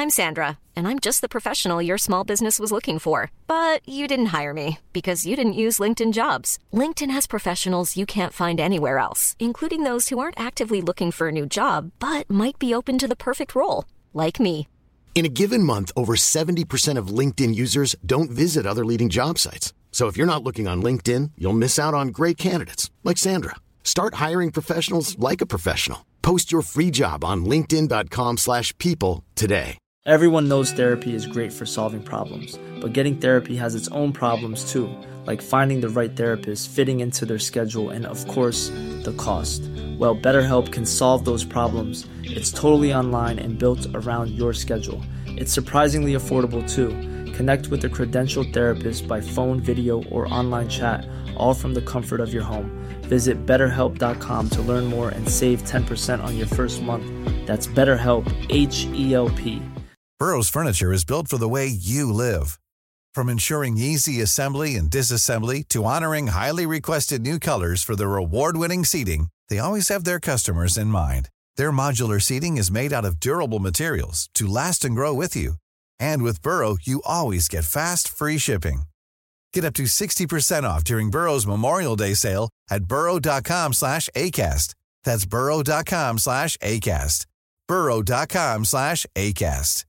I'm Sandra, and I'm just the professional your small business was looking for. But you didn't hire me because you didn't use LinkedIn Jobs. LinkedIn has professionals you can't find anywhere else, including those who aren't actively looking for a new job, but might be open to the perfect role, like me. In a given month, over 70% of LinkedIn users don't visit other leading job sites. So if you're not looking on LinkedIn, you'll miss out on great candidates like Sandra. Start hiring professionals like a professional. Post your free job on linkedin.com/people today. Everyone knows therapy is great for solving problems, but getting therapy has its own problems too, like finding the right therapist, fitting into their schedule, and of course, the cost. Well, BetterHelp can solve those problems. It's totally online and built around your schedule. It's surprisingly affordable too. Connect with a credentialed therapist by phone, video, or online chat, all from the comfort of your home. Visit BetterHelp.com to learn more and save 10% on your first month. That's BetterHelp, H-E-L-P. Burrow's furniture is built for the way you live. From ensuring easy assembly and disassembly to honoring highly requested new colors for their award-winning seating, they always have their customers in mind. Their modular seating is made out of durable materials to last and grow with you. And with Burrow, you always get fast, free shipping. Get up to 60% off during Burrow's Memorial Day sale at burrow.com/ACAST. That's burrow.com/ACAST. burrow.com/ACAST.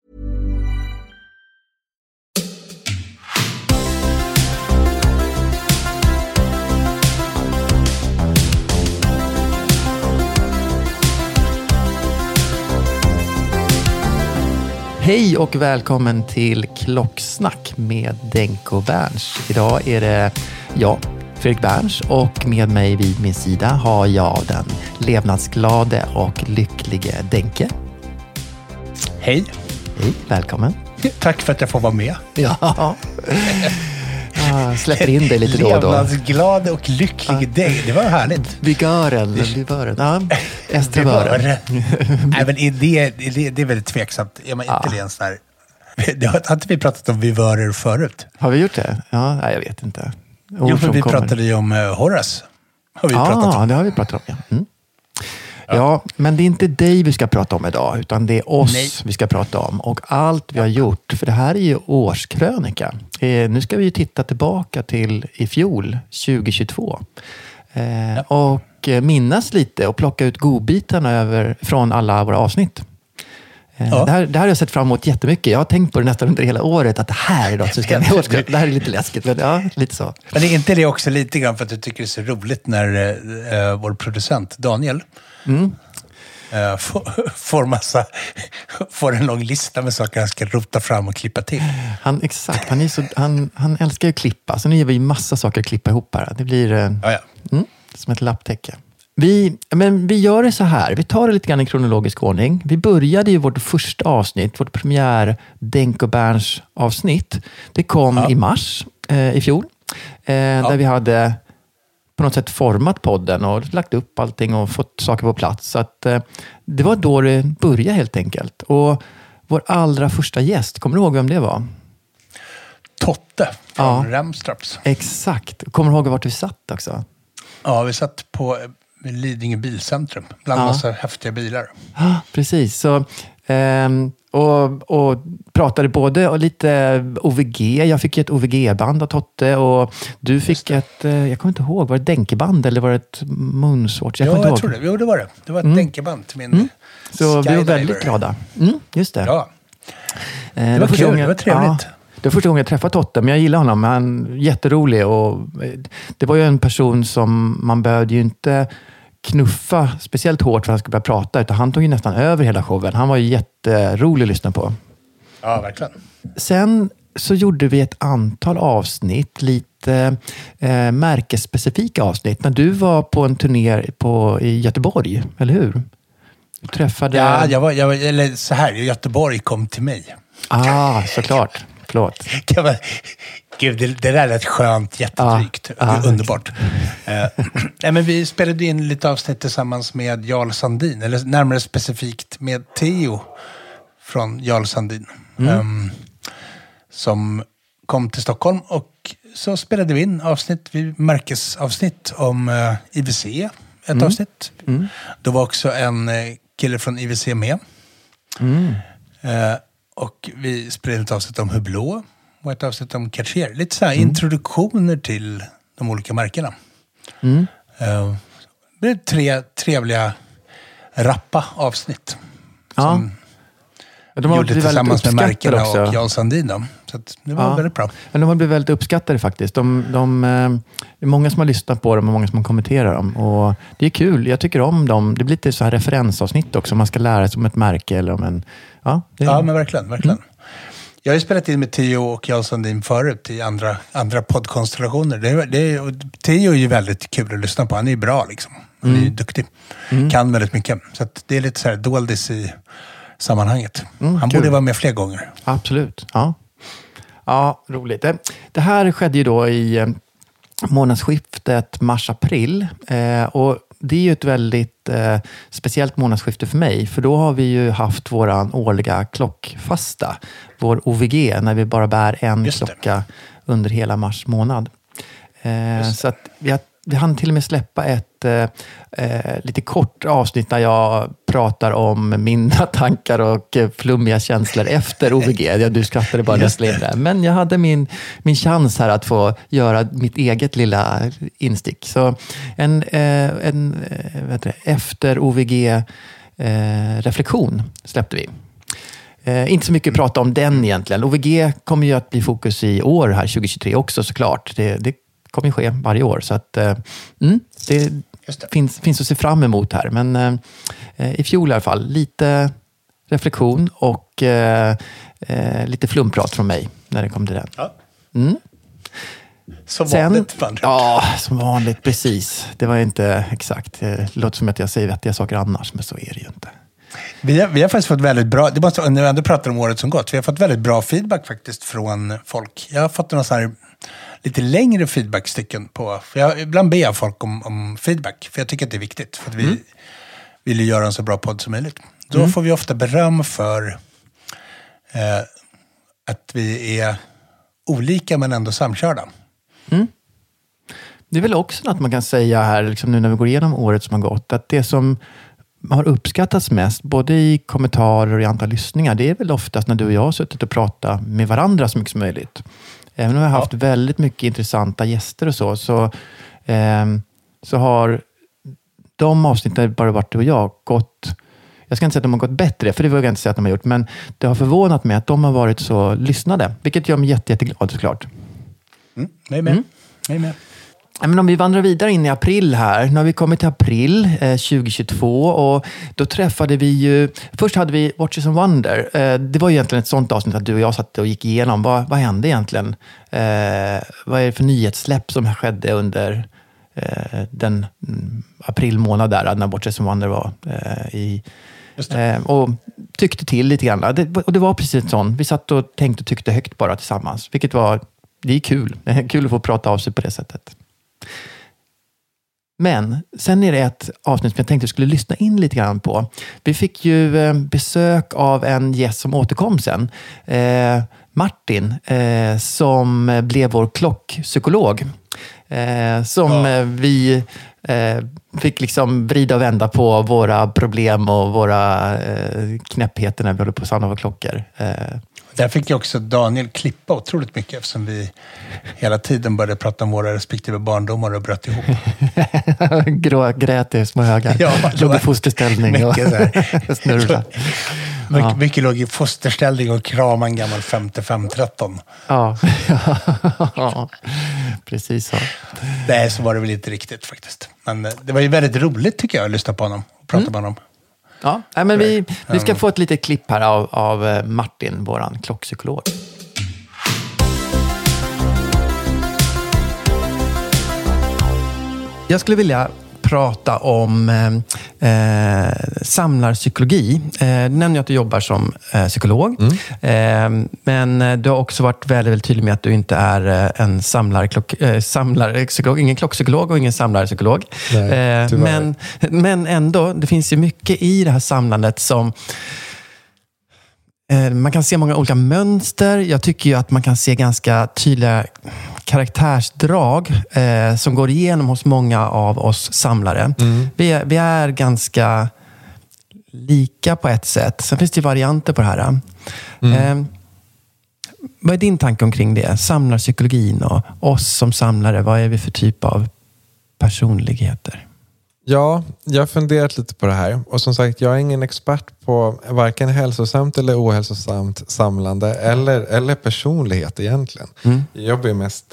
Hej och välkommen till Klocksnack med Denke och Berns. Idag är det jag, Fredrik Berns, och med mig vid min sida har jag den levnadsglade och lycklige Denke. Hej. Hej, välkommen. Tack för att jag får vara med. Ja, släpper in dig lite då och då. Levnadsglad och lycklig dig. Det var härligt. Vigören. Ja, estravören. Nej, men det är väldigt tveksamt. Är man inte det en sån här... Har inte vi pratat om vivörer förut? Har vi gjort det? Ja, nej, jag vet inte. Jo, för vi pratade ju om Horace. Har vi pratat om. Ja, det har vi pratat om, ja. Mm. Ja, men det är inte dig vi ska prata om idag, utan det är oss vi ska prata om. Och allt vi har gjort, för det här är ju årskrönika. Nu ska vi ju titta tillbaka till i fjol, 2022. Och minnas lite och plocka ut godbitarna från alla våra avsnitt. Det här har jag sett fram emot jättemycket. Jag har tänkt på det nästan under hela året att det här är något som ska... Det här är lite läskigt, men ja, lite så. Men är inte det också lite grann för att du tycker det är så roligt när vår producent Daniel får en lång lista med saker han ska rota fram och klippa till. Han älskar ju att klippa. Så nu ger vi massa saker att klippa ihop här. Det blir som ett lapptäcke. Vi gör det så här. Vi tar det lite grann i kronologisk ordning. Vi började ju vårt första avsnitt, vårt premiär Denke och Berns avsnitt. Det kom i mars i fjol. Där vi hade på något sätt format podden och lagt upp allting och fått saker på plats. Så att det var då det började helt enkelt. Och vår allra första gäst, kommer du ihåg vem det var? Totte från Ramstraps. Exakt. Kommer du ihåg vart vi satt också? Ja, vi satt på Lidingö bilcentrum. Bland massa häftiga bilar. Ja, precis. Så, och pratade både och lite OVG. Jag fick ett OVG-band av Totte. Och du fick ett, jag kommer inte ihåg, var det Denkeband eller var det ett munsvårt? Jag tror det. Jo, det var det. Det var ett Denkeband till min Så vi var väldigt glada. Just det. Ja. Det var kul, det var trevligt. Ja. Det var första gången jag träffade Totte, men jag gillar honom. Han är jätterolig och det var ju en person som man behövde ju inte knuffa speciellt hårt för att han skulle börja prata, utan han tog ju nästan över hela showen. Han var ju jätterolig att lyssna på. Ja, verkligen. Sen så gjorde vi ett antal avsnitt, lite märkesspecifika avsnitt. När du var på en turné i Göteborg, eller hur? Du träffade... Ja, eller så här, Göteborg kom till mig. Såklart. Förlåt. Gud, det där är ett skönt, jättedrygt. Underbart. Nej, men vi spelade in lite avsnitt tillsammans med Jarl Sandin. Eller närmare specifikt med Theo från Jarl Sandin. Som kom till Stockholm. Och så spelade vi in märkesavsnitt om IWC. Ett avsnitt. Då var också en kille från IWC med. Och vi spelade ett avsnitt om Hublot och ett avsnitt om Cartier. Lite så här introduktioner till de olika märkena. Det blev 3 trevliga, rappa avsnitt. Som de gjorde tillsammans med märkena också. Och Jarl Sandin. Så att det var väldigt bra. Men de har blivit väldigt uppskattade faktiskt. Det är många som har lyssnat på dem och många som kommenterar dem. Och det är kul. Jag tycker om dem. Det blir lite så här referensavsnitt också. Man ska lära sig om ett märke eller om en... Ja, men verkligen. Jag har ju spelat in med Theo och Jarl Sandin förut i andra poddkonstellationer. Theo är ju väldigt kul att lyssna på. Han är ju bra liksom. Han är ju duktig. Kan väldigt mycket. Så att det är lite så här doldis i sammanhanget. Han borde vara med fler gånger. Absolut, ja, roligt. Det här skedde ju då i månadsskiftet mars-april. Och det är ju ett väldigt speciellt månadsskifte för mig. För då har vi ju haft våran årliga klockfasta. Vår OVG, när vi bara bär en klocka under hela mars månad. Så att vi hann till och med släppa ett lite kort avsnitt där jag pratar om mina tankar och flummiga känslor efter OVG. Du skrattade bara nästan in där. Men jag hade min chans här att få göra mitt eget lilla instick. Så en efter OVG-reflektion släppte vi. Inte så mycket att prata om den egentligen. OVG kommer ju att bli fokus i år här 2023 också såklart. Det kommer ju ske varje år. Så att det finns att se fram emot här. Men i fjol i alla fall lite reflektion och lite flumprat från mig när det kom till den. Ja. Som vanligt. Ja, som vanligt, precis. Det var inte exakt. Det låter som att jag säger vettiga saker annars, men så är det ju inte. Vi har faktiskt fått väldigt bra, när vi ändå pratar om året som gått, vi har fått väldigt bra feedback faktiskt från folk. Jag har fått några så här lite längre feedbackstycken på, för ibland ber jag folk om feedback, för jag tycker att det är viktigt, för att vi vill ju göra en så bra podd som möjligt. Då får vi ofta beröm för att vi är olika men ändå samkörda. Det är väl också något man kan säga här, liksom nu när vi går igenom året som har gått, att det som har uppskattats mest, både i kommentarer och i andra lyssningar, det är väl oftast när du och jag har suttit och pratat med varandra så mycket som möjligt. Även om vi har haft väldigt mycket intressanta gäster och så har de avsnitten bara varit du och jag gått, jag ska inte säga att de har gått bättre, för det vågar jag inte säga att de har gjort, men det har förvånat mig att de har varit så lyssnade, vilket gör mig jätteglad såklart. Jag är med. Men om vi vandrar vidare in i april här. Nu har vi kommit till april 2022 och då träffade vi ju... Först hade vi Watches and Wonder. Det var ju egentligen ett sånt avsnitt att du och jag satt och gick igenom. Vad hände egentligen? Vad är det för nyhetssläpp som skedde under den april månad där när Watches and Wonder var i... och tyckte till lite grann. Och det var precis ett sånt. Vi satt och tänkte och tyckte högt bara tillsammans. Vilket var... Det är kul. Det är kul att få prata av sig på det sättet. Men sen är det ett avsnitt som jag tänkte jag skulle lyssna in lite grann på. Vi fick ju besök av en gäst som återkom sen. Martin, som blev vår klockpsykolog. Vi fick liksom vrida och vända på våra problem och våra knäppheter när vi håller på att samla våra klockor. Där fick jag också Daniel klippa otroligt mycket eftersom vi hela tiden började prata om våra respektive barndomar och bröt ihop. Grät i små högar. Ja, låg i fosterställning och snurrade. Mycket låg i fosterställning och krama en gammal 5513. Ja, precis så. Nej, så var det väl inte riktigt faktiskt. Men det var ju väldigt roligt tycker jag att lyssna på honom och prata med honom. Ja, men vi ska få ett litet klipp här av Martin, våran klockpsykolog. Jag skulle vilja prata om samlarpsykologi. Du nämnde att du jobbar som psykolog. Men du har också varit väldigt, väldigt tydlig med att du inte är en samlarpsykolog. Ingen klockpsykolog och ingen samlarpsykolog. Men ändå, det finns ju mycket i det här samlandet som... Man kan se många olika mönster. Jag tycker ju att man kan se ganska tydliga karaktärsdrag som går igenom hos många av oss samlare. Vi är ganska lika på ett sätt. Sen finns det varianter på det här. Vad är din tanke omkring det? Samlarpsykologin och oss som samlare, vad är vi för typ av personligheter? Ja, jag har funderat lite på det här. Och som sagt, jag är ingen expert på varken hälsosamt eller ohälsosamt samlande eller personlighet egentligen. Jag jobbar ju mest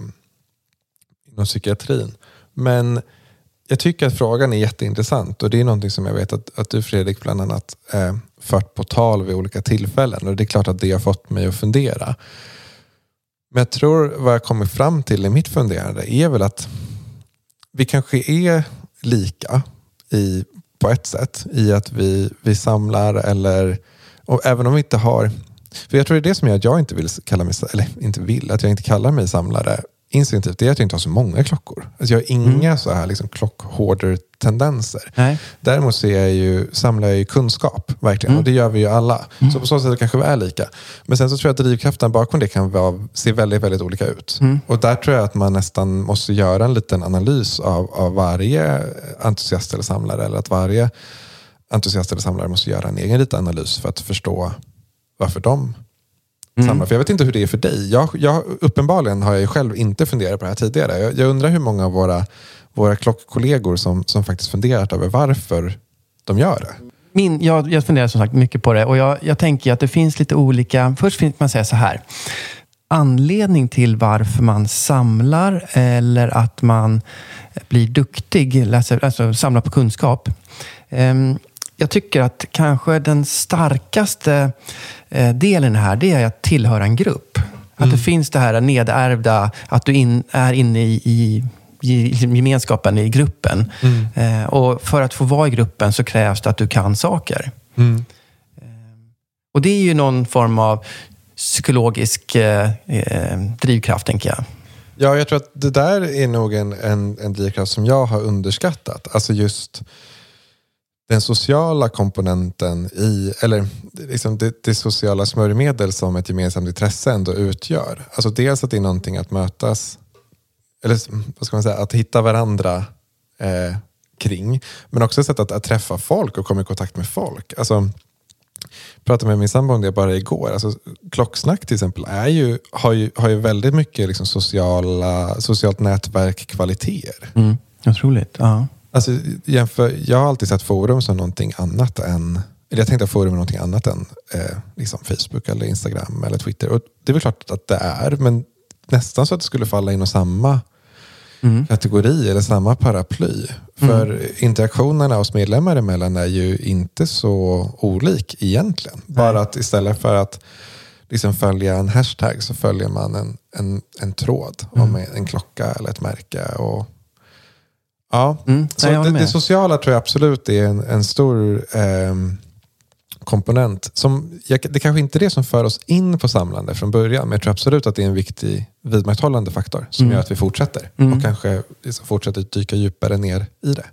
inom psykiatrin. Men jag tycker att frågan är jätteintressant. Och det är någonting som jag vet att du, Fredrik, bland annat fört på tal vid olika tillfällen. Och det är klart att det har fått mig att fundera. Men jag tror vad jag kommer fram till i mitt funderande är väl att vi kanske är lika på ett sätt i att vi samlar och även om vi inte har, för jag tror det är det som gör att jag inte vill kalla mig, eller inte vill, att jag inte kallar mig samlare instinktivt, det är att jag inte har så många klockor. Alltså jag har inga så här liksom klockhorder-tendenser. Nej. Däremot samlar jag ju kunskap, verkligen. Och det gör vi ju alla. Så på så sätt kanske vi är lika. Men sen så tror jag att drivkraften bakom det kan se väldigt, väldigt olika ut. Och där tror jag att man nästan måste göra en liten analys av varje entusiast eller samlare. Eller att varje entusiast eller samlare måste göra en egen liten analys för att förstå varför de samlar. För jag vet inte hur det är för dig. Uppenbarligen har jag ju själv inte funderat på det här tidigare. Jag undrar hur många av våra klockkollegor som faktiskt funderat över varför de gör det. Jag funderar som sagt mycket på det. Och jag tänker att det finns lite olika... Först finns man säga så här. Anledning till varför man samlar eller att man blir duktig, alltså samlar på kunskap. Jag tycker att kanske den starkaste delen här, det är att tillhöra en grupp. Att det finns det här nedärvda, att du är inne i gemenskapen i gruppen. Och för att få vara i gruppen så krävs det att du kan saker. Och det är ju någon form av psykologisk drivkraft, tänker jag. Ja, jag tror att det där är nog en drivkraft som jag har underskattat. Alltså just den sociala komponenten eller liksom det sociala smörjmedel som ett gemensamt intresse ändå utgör. Alltså dels att det är någonting att mötas, eller vad ska man säga, att hitta varandra kring. Men också ett sätt att träffa folk och komma i kontakt med folk. Alltså, jag pratade med min sambo om det bara igår. Alltså, klocksnack till exempel har ju väldigt mycket liksom socialt nätverk kvaliteter. Otroligt, ja. Alltså, jag har alltid sett forum som någonting annat än... Eller jag tänkte att forum är någonting annat än liksom Facebook eller Instagram eller Twitter. Och det är väl klart att det är, men nästan så att det skulle falla in i samma kategori eller samma paraply. För interaktionerna hos medlemmar emellan är ju inte så olik egentligen. Bara att istället för att liksom följa en hashtag så följer man en tråd om en klocka eller ett märke och... Ja, så det sociala tror jag absolut är en stor komponent. Det kanske inte är det som för oss in på samlande från början, men jag tror absolut att det är en viktig vidmakthållande faktor som gör att vi fortsätter. Och kanske liksom fortsätter dyka djupare ner i det.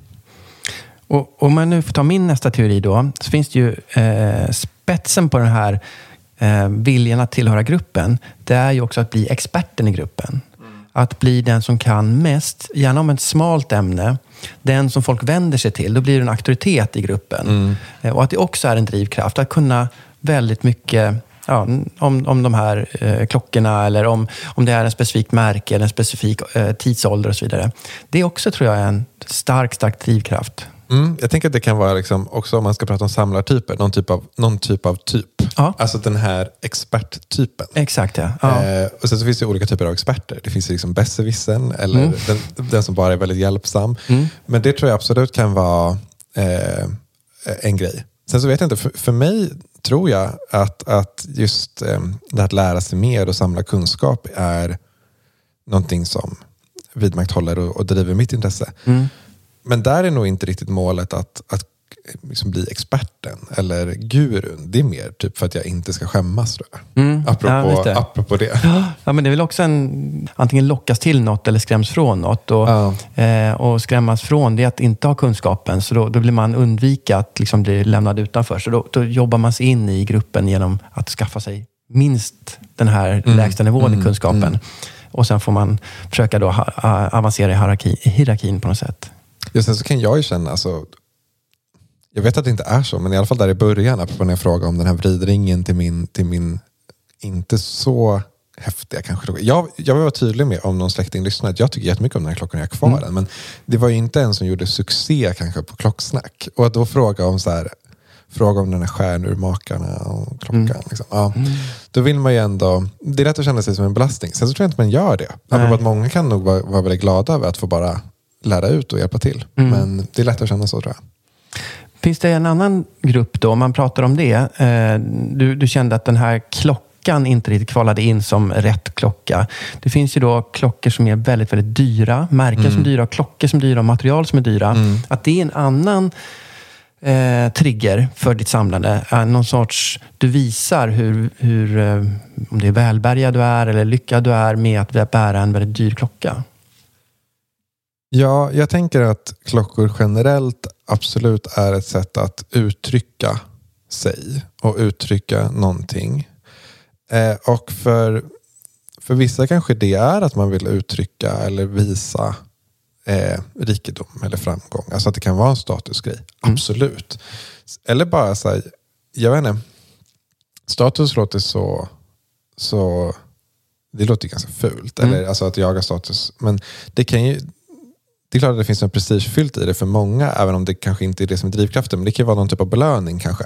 Och om man nu får ta min nästa teori då, så finns det ju spetsen på den här viljan att tillhöra gruppen. Det är ju också att bli experten i gruppen. Att bli den som kan mest, gärna om ett smalt ämne, den som folk vänder sig till, då blir det en auktoritet i gruppen. Och att det också är en drivkraft, att kunna väldigt mycket om de här klockorna eller om det är en specifik märke eller en specifik tidsålder och så vidare. Det är också, tror jag, en stark drivkraft. Jag tänker att det kan vara liksom, också om man ska prata om samlartyper, någon typ av typ. Ja. Alltså den här experttypen. Exakt, ja. Och sen så finns det olika typer av experter. Det finns liksom besserwissern eller den som bara är väldigt hjälpsam. Men det tror jag absolut kan vara en grej. Sen så vet jag inte, för mig tror jag att just det här att lära sig mer och samla kunskap är någonting som vidmakthåller och driver mitt intresse. Men där är nog inte riktigt målet att liksom bli experten eller gurun. Det är mer typ för att jag inte ska skämmas, tror jag. Apropå det. Ja, men det är väl också antingen lockas till något eller skräms från något. Och skrämmas från det att inte ha kunskapen. Så då blir man undvika att liksom bli lämnad utanför. Så då jobbar man sig in i gruppen genom att skaffa sig minst den här lägsta nivån i kunskapen. Och sen får man försöka då avancera i hierarkin på något sätt. Just sen så kan jag ju känna, alltså, Jag vet att det inte är så, men i alla fall där i början, apropå när jag frågade om den här vridringen till min inte så häftiga kanske. Jag vill vara tydlig med, om någon släkting lyssnar, att jag tycker jättemycket om den här klockan och jag har kvar den. Men det var ju inte en som gjorde succé kanske på Klocksnack. Och att då fråga om den här stjärnurmakarna och klockan. Liksom. Ja. Då vill man ju ändå, det är lätt att känna sig som en belastning. Sen så tror jag inte man gör det. Apropå att många kan nog vara väldigt glada över att få bara lära ut och hjälpa till. Men det är lätt att känna så, tror jag. Finns det en annan grupp då, om man pratar om det? Du kände att den här klockan inte riktigt kvalade in som rätt klocka. Det finns ju då klockor som är väldigt, väldigt dyra. Märken som är dyra, klockor som är dyra, material som är dyra. Att det är en annan trigger för ditt samlande. Någon sorts, du visar hur om det är välbärgad du är eller lyckad du är med att bära en väldigt dyr klocka. Ja, jag tänker att klockor generellt absolut är ett sätt att uttrycka sig och uttrycka någonting. Och för vissa kanske det är att man vill uttrycka eller visa rikedom eller framgång. Alltså att det kan vara en statusgrej. Absolut. Eller bara så här, jag vet inte, status låter så det låter ganska fult. Eller alltså att jaga status. Men det kan ju, det är klart att det finns en prestigefyllt i det för många, även om det kanske inte är det som är drivkraften. Men det kan vara någon typ av belöning kanske.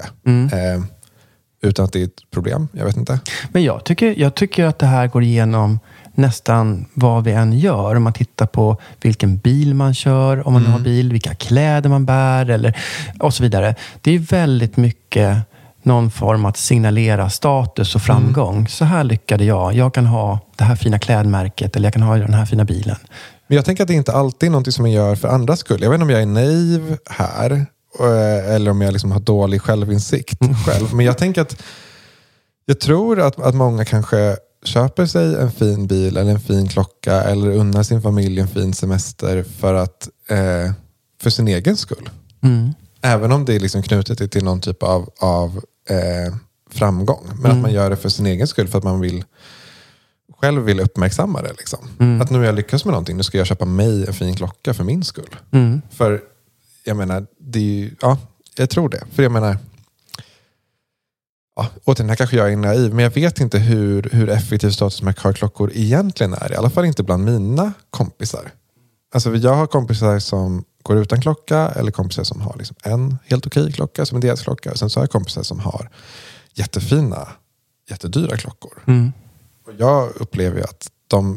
Utan att det är ett problem. Jag vet inte. Men jag tycker att det här går igenom nästan vad vi än gör. Om man tittar på vilken bil man kör, om man har bil, vilka kläder man bär eller, och så vidare. Det är väldigt mycket någon form att signalera status och framgång. Så här lyckade jag. Jag kan ha det här fina klädmärket eller jag kan ha den här fina bilen. Men jag tänker att det inte alltid är något som man gör för andras skull. Jag vet inte om jag är naiv här eller om jag liksom har dålig självinsikt själv. Men jag tänker att jag tror att många kanske köper sig en fin bil eller en fin klocka eller unnar sin familj en fin semester för sin egen skull. Även om det är liksom knutet till någon typ av framgång. Men att man gör det för sin egen skull, för att man själv vill uppmärksamma det. Liksom. Att nu har jag lyckats med någonting, nu ska jag köpa mig en fin klocka för min skull. För jag menar, det är ju, ja, jag tror det. För jag menar, ja, återigen, här kanske jag är naiv, men jag vet inte hur effektiv statusmärke har klockor egentligen är. I alla fall inte bland mina kompisar. Alltså jag har kompisar som går utan klocka, eller kompisar som har liksom en helt okej klocka som en deras klocka. Och sen så har jag kompisar som har jättefina, jättedyra klockor. Och jag upplever ju att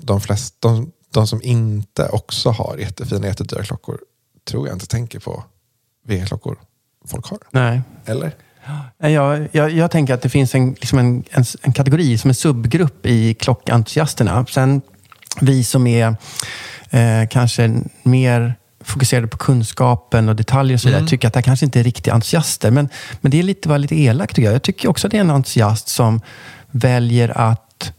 de som inte också har jättefina, jättedyra klockor, tror jag inte tänker på vilka klockor folk har. Nej. Eller? Jag tänker att det finns en kategori som en subgrupp i klockentusiasterna. Sen vi som är kanske mer fokuserade på kunskapen och detaljer och så vidare, tycker att det kanske inte är riktiga entusiaster. Men det är var lite elakt tycker jag. Jag tycker också att det är en entusiast som väljer att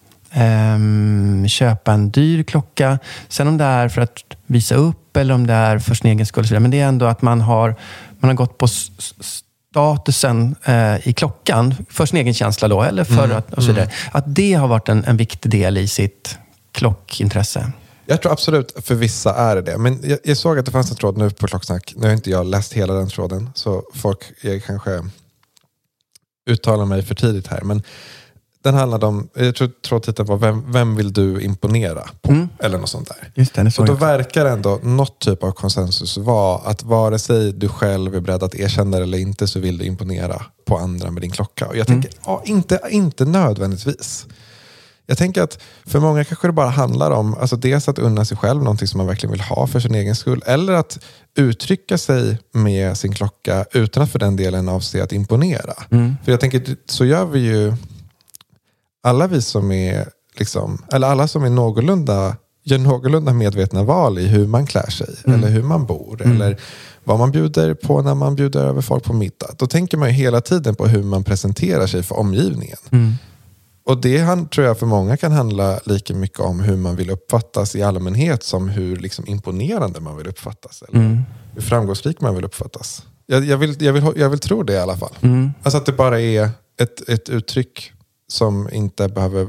köpa en dyr klocka. Sen om det är för att visa upp eller om det är för sin egen skull. Men det är ändå att man har gått på statusen i klockan för sin egen känsla då, eller för att, och så vidare. Att det har varit en viktig del i sitt klockintresse. Jag tror absolut för vissa är det. Men jag såg att det fanns en tråd nu på Klocksnack. Nu har inte jag läst hela den tråden, så jag kanske uttalar mig för tidigt här. Men den handlade om, jag tror titeln var vem vill du imponera på? Eller något sånt där. Just det, och då verkar ändå något typ av konsensus vara att vare sig du själv är beredd att erkänna eller inte, så vill du imponera på andra med din klocka. Och jag tänker, inte nödvändigtvis. Jag tänker att för många kanske det bara handlar om alltså dels att unna sig själv någonting som man verkligen vill ha för sin egen skull. Eller att uttrycka sig med sin klocka utan att för den delen avse att imponera. För jag tänker, så gör vi ju alla vi som är liksom, eller alla som är gör någorlunda medvetna val i hur man klär sig eller hur man bor eller vad man bjuder på när man bjuder över folk på middag. Då tänker man ju hela tiden på hur man presenterar sig för omgivningen. Och det tror jag för många kan handla lika mycket om hur man vill uppfattas i allmänhet som hur liksom imponerande man vill uppfattas. Eller hur framgångsrik man vill uppfattas. Jag vill tro det i alla fall. Alltså att det bara är ett uttryck som inte behöver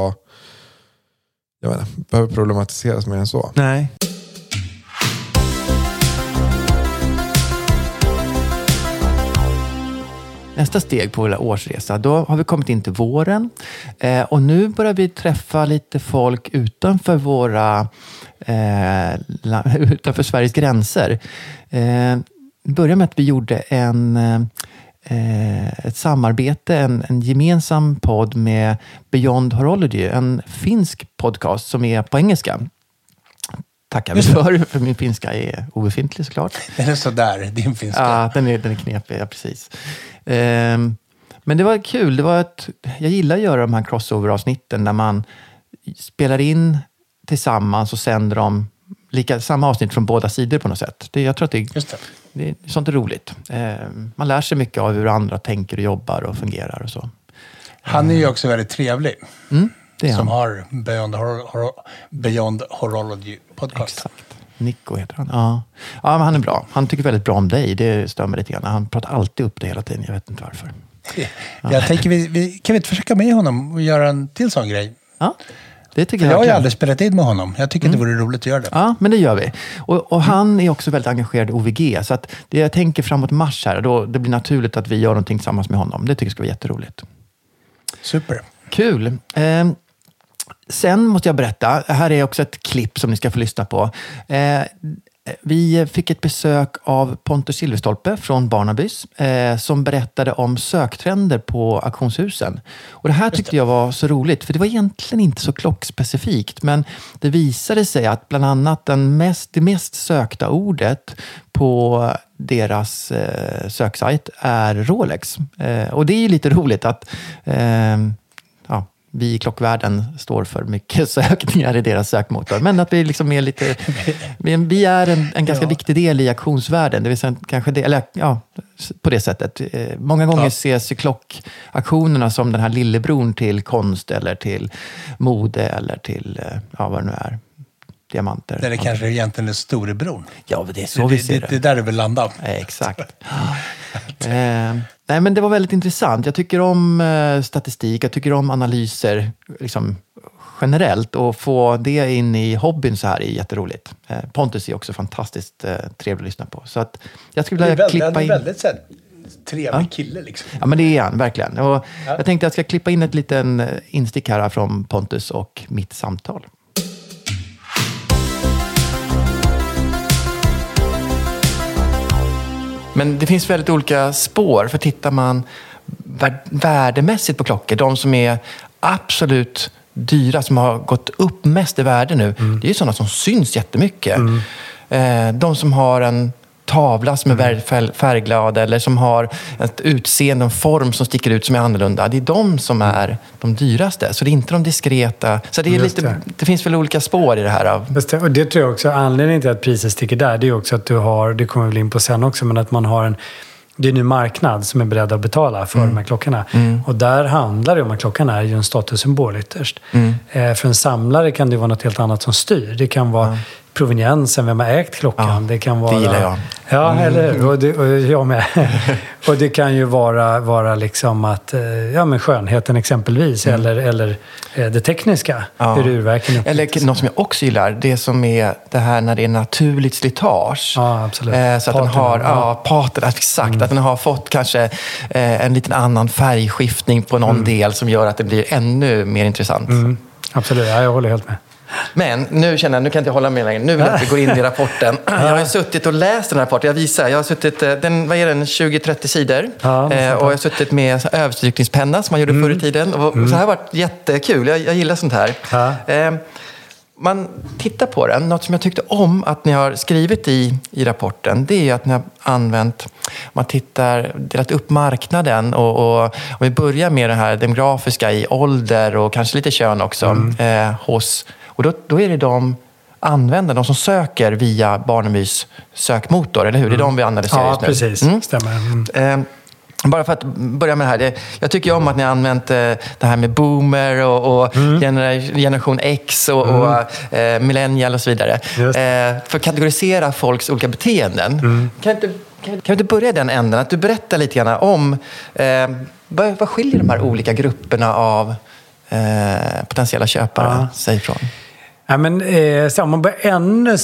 behöver problematiseras mer än så. Nej. nästa steg på vår årsresa. Då har vi kommit in till våren. Och nu börjar vi träffa lite folk utanför utanför Sveriges gränser. Vi började med att vi gjorde ett samarbete, en gemensam podd med Beyond Horology, en finsk podcast som är på engelska. Tackar vi för min finska är obefintlig såklart. Den är sådär, din finska. Ja, den är knepig, ja, precis. Men det var kul, jag gillar att göra de här crossover-avsnitten när man spelar in tillsammans och sänder dem samma avsnitt från båda sidor på något sätt. Jag tror att det är sånt är roligt. Man lär sig mycket av hur andra tänker och jobbar och fungerar och så. Han är ju också väldigt trevlig. Det är som han. har Beyond Horology podcast. Exakt. Nico heter han. Ja, men han är bra. Han tycker väldigt bra om dig. Det stör mig lite grann. Han pratar alltid upp det hela tiden. Jag vet inte varför. Jag tänker, kan vi inte försöka med honom och göra en till sån grej? Ja, det tycker jag har ju aldrig spelat in med honom. Jag tycker det vore roligt att göra det. Ja, men det gör vi. Och han är också väldigt engagerad i OVG. Så att det jag tänker framåt mars här, det blir naturligt att vi gör någonting tillsammans med honom. Det tycker jag ska vara jätteroligt. Super. Kul. Sen måste jag berätta, här är också ett klipp som ni ska få lyssna på. Vi fick ett besök av Pontus Silverstolpe från Barnabys som berättade om söktrender på auktionshusen. Och det här tyckte jag var så roligt, för det var egentligen inte så klockspecifikt, men det visade sig att bland annat det mest sökta ordet på deras söksajt är Rolex. Och det är ju lite roligt att vi i klockvärlden står för mycket sökningar i deras sökmotor. Men att vi liksom är lite... Vi är en ganska viktig del i auktionsvärlden. Det vill säga kanske det, eller på det sättet. Många gånger ses klockauktionerna som den här lillebron till konst eller till mode eller till vad det nu är. Diamanter. Där det kanske egentligen är storebron. Ja, det är så vi ser det. Det är där det vill landa. Exakt. Nej, men det var väldigt intressant. Jag tycker om statistik, jag tycker om analyser liksom, generellt. Och få det in i hobbyn så här är jätteroligt. Pontus är också fantastiskt trevlig att lyssna på. Så att jag skulle vilja klippa in... Han är väldigt så här, trevlig kille liksom. Ja, men det är han, verkligen. Och jag tänkte att jag ska klippa in ett liten instick här från Pontus och mitt samtal. Men det finns väldigt olika spår, för tittar man värdemässigt på klockor, de som är absolut dyra, som har gått upp mest i värde nu, det är ju sådana som syns jättemycket. De som har en tavla som är färgglad eller som har ett utseende, en form som sticker ut som är annorlunda. Det är de som är de dyraste. Så det är inte de diskreta. Så det är det finns väl olika spår i det här. Och det tror jag också, anledningen till att priset sticker där, det är också att du har, det kommer vi in på sen också, men att man har det är nu marknad som är beredd att betala för de här klockorna. Och där handlar det om att klockan är ju en statussymbol ytterst. För en samlare kan det vara något helt annat som styr. Det kan vara proveniensen, vem har ägt klockan. Det kan vara... Det gillar jag. Ja, eller och jag med. Och det kan ju vara liksom att, men skönheten exempelvis, eller det tekniska, hur urverken uppfattas. Eller något som jag också gillar, det som är det här när det är naturligt slitage. Ja, absolut. Så att den har, paten, exakt, att den har fått kanske en liten annan färgskiftning på någon del som gör att det blir ännu mer intressant. Absolut, jag håller helt med. Men nu känner jag, nu kan jag inte hålla med längre. Nu vill jag att vi går in i rapporten. Jag har suttit och läst den här rapporten. Jag visar, jag har suttit, vad är den, 20-30 sidor. Och jag har suttit med överstrykningspenna som man gjorde förr i tiden. Och så här har varit jättekul. Jag gillar sånt här. Man tittar på den. Något som jag tyckte om att ni har skrivit i rapporten, det är att ni har använt, man delat upp marknaden och om vi börjar med det här demografiska i ålder och kanske lite kön också och då är det de användare, de som söker via Barnabys sökmotor, eller hur? Det är de vi analyserar just nu. Precis. Stämmer. Bara för att börja med det här. Jag tycker om att ni har använt det här med boomer och generation X och millennial och så vidare. För att kategorisera folks olika beteenden. Kan vi inte börja i den änden? Att du berättar lite grann om vad skiljer de här olika grupperna av potentiella köpare sig ifrån? Ja, men om man börjar ännu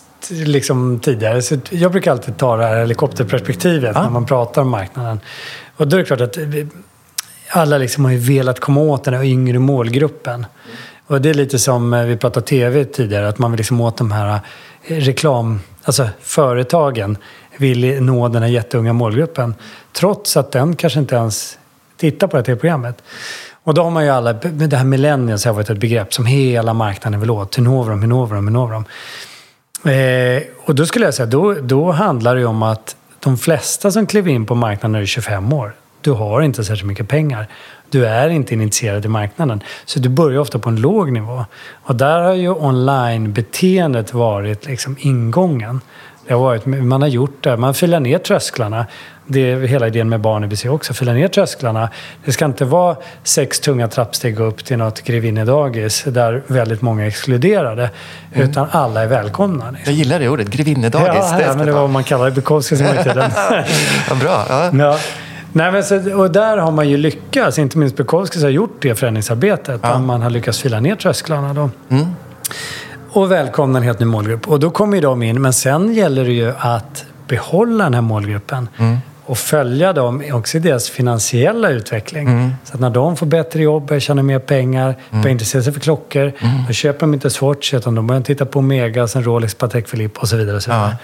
liksom tidigare. Så jag brukar alltid ta det här helikopterperspektivet när man pratar om marknaden. Och då är det klart att alla liksom har ju velat komma åt den här yngre målgruppen. Och det är lite som vi pratade tv tidigare, att man vill liksom åt de här alltså företagen vill nå den här jätteunga målgruppen. Trots att den kanske inte ens tittar på det här programmet. Och då har man ju alla, det här millennials har varit ett begrepp som hela marknaden vill åt. Hur når de? Och då skulle jag säga, då handlar det ju om att de flesta som kliver in på marknaden är 25 år. Du har inte särskilt mycket pengar. Du är inte initierad i marknaden. Så du börjar ofta på en låg nivå. Och där har ju online-beteendet varit liksom ingången. Det har varit, man har gjort det. Man filar ner trösklarna. Det är hela idén med barn i BC också. Fila ner trösklarna. Det ska inte vara 6 tunga trappsteg upp till något grevinnedagis där väldigt många är exkluderade. Utan alla är välkomna. Liksom. Jag gillar det ordet, grevinnedagis. Ja, men det var vad man kallar det. Bukowski som var tiden. Ja, bra. Ja. Nej, men och där har man ju lyckats. Inte minst Bukowski har gjort det förändringsarbetet. Ja. Man har lyckats fila ner trösklarna då. Och välkomna en helt ny målgrupp. Och då kommer ju de in. Men sen gäller det ju att behålla den här målgruppen. Och följa dem också i deras finansiella utveckling. Så att när de får bättre jobb, tjänar mer pengar, börjar intressera sig för klockor, då köper de inte Swatch, utan de börjar titta på Omega, sen Rolex, Patek Philippe och så vidare. Och så vidare.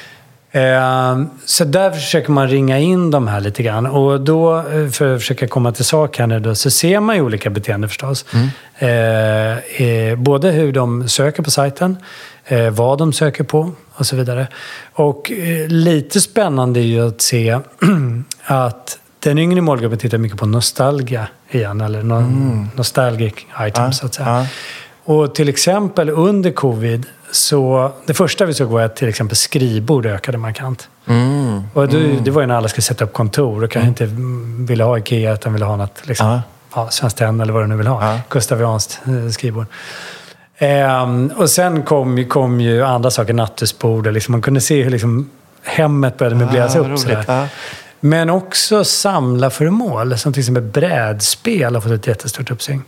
Så där försöker man ringa in de här lite grann. Och då, för att försöka komma till sak här nu då, så ser man ju olika beteenden förstås. Både hur de söker på sajten, vad de söker på och så vidare. Och lite spännande är ju att se att den yngre målgruppen tittar mycket på nostalgia igen, eller nostalgic items så att säga. Och till exempel under covid, så det första vi såg var att till exempel skrivbord ökade markant. Och det var ju när alla skulle sätta upp kontor och kanske inte ville ha IKEA utan ville ha något liksom, Svenskt Tenn eller vad du nu vill ha. Gustavianskt skrivbord. Och sen kom ju andra saker, nattduksbord, och liksom man kunde se hur liksom hemmet började möbleras upp. Men också samla föremål, som till exempel brädspel har fått ett jättestort uppsving.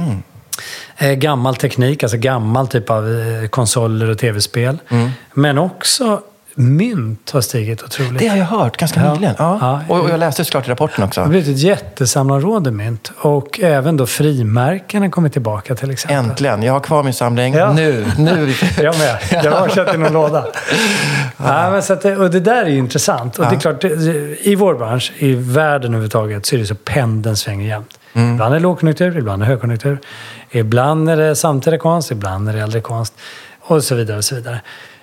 Gammal teknik, alltså gammal typ av konsoler och tv-spel. Men också mynt har stigit otroligt. Det har jag hört ganska nyligen. Och jag läste såklart i rapporten också. Det har blivit ett jättesamlarråd mynt. Och även då frimärken har kommit tillbaka till exempel. Äntligen, jag har kvar min samling. Nu. Jag med. Jag har köpt i någon låda. Men så att, och det där är ju intressant. Och det är klart, i vår bransch, i världen överhuvudtaget, så är det så pendeln svänger jämt. Ibland är det lågkonjunktur, ibland är det högkonjunktur. Ibland är det samtida konst, ibland är det äldre konst. Och så vidare och så vidare.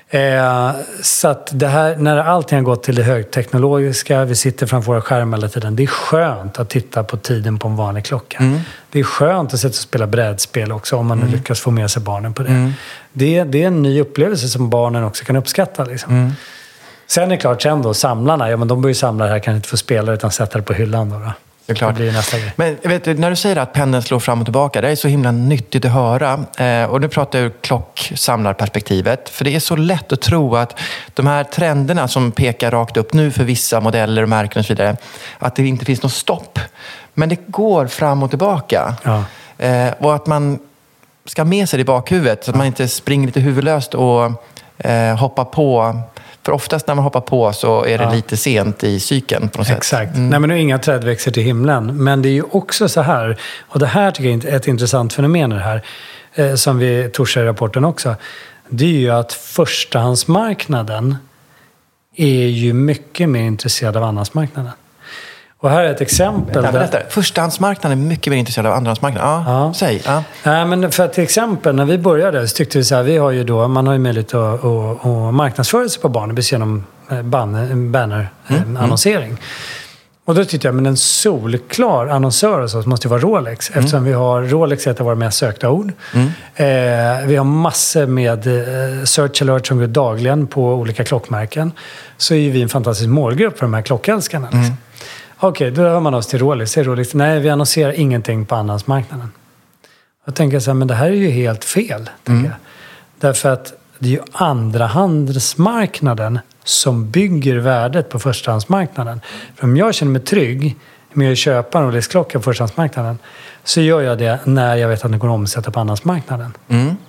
Så att det här, när allting har gått till det högteknologiska, vi sitter framför våra skärmar hela tiden, det är skönt att titta på tiden på en vanlig klocka. Det är skönt att sätta och spela brädspel också, om man nu lyckas få med sig barnen på det. Det är en ny upplevelse som barnen också kan uppskatta liksom. Sen är det klart, sen då samlarna, men de börjar ju samla det här, kan inte få spela utan sätta det på hyllan då. Det blir nästa grej. Men vet du, när du säger att pendeln slår fram och tillbaka, det är så himla nyttigt att höra. Och nu pratar jag ur klocksamlarperspektivet. För det är så lätt att tro att de här trenderna som pekar rakt upp nu för vissa modeller och märken och så vidare, att det inte finns något stopp. Men det går fram och tillbaka. Och att man ska ha med sig det i bakhuvudet, så att man inte springer lite huvudlöst och hoppar på. För oftast när man hoppar på så är det lite sent i cykeln på något sätt. Exakt. Nej, men det är inga träd växer till himlen. Men det är ju också så här, och det här tycker jag är ett intressant fenomen det här, som vi torsar i rapporten också. Det är ju att förstahandsmarknaden är ju mycket mer intresserad av andrahandsmarknaden. Och här är ett exempel. Förstahandsmarknaden är mycket mer intresserad av andrahandsmarknaden. Säg. Nej, men för till exempel när vi började så tyckte vi så här, vi har ju då, man har ju möjlighet att marknadsföra sig på barnen genom banner-annonsering. Och då tyckte jag, men en solklar annonsör och så måste ju vara Rolex. Eftersom vi har Rolex, ett av våra mest sökta ord. Vi har massor med search alert som går dagligen på olika klockmärken. Så är ju vi en fantastisk målgrupp för de här klockälskarna. Liksom. Okej, då hör man oss till Rolex. Nej, vi annonserar ingenting på andrahandsmarknaden. Jag tänker så här, men det här är ju helt fel. Jag. Därför att det är ju andrahandsmarknaden som bygger värdet på förstahandsmarknaden. För om jag känner mig trygg med att köpa en Rolex-klocka på förstahandsmarknaden, så gör jag det när jag vet att den går att omsätta på andrahandsmarknaden.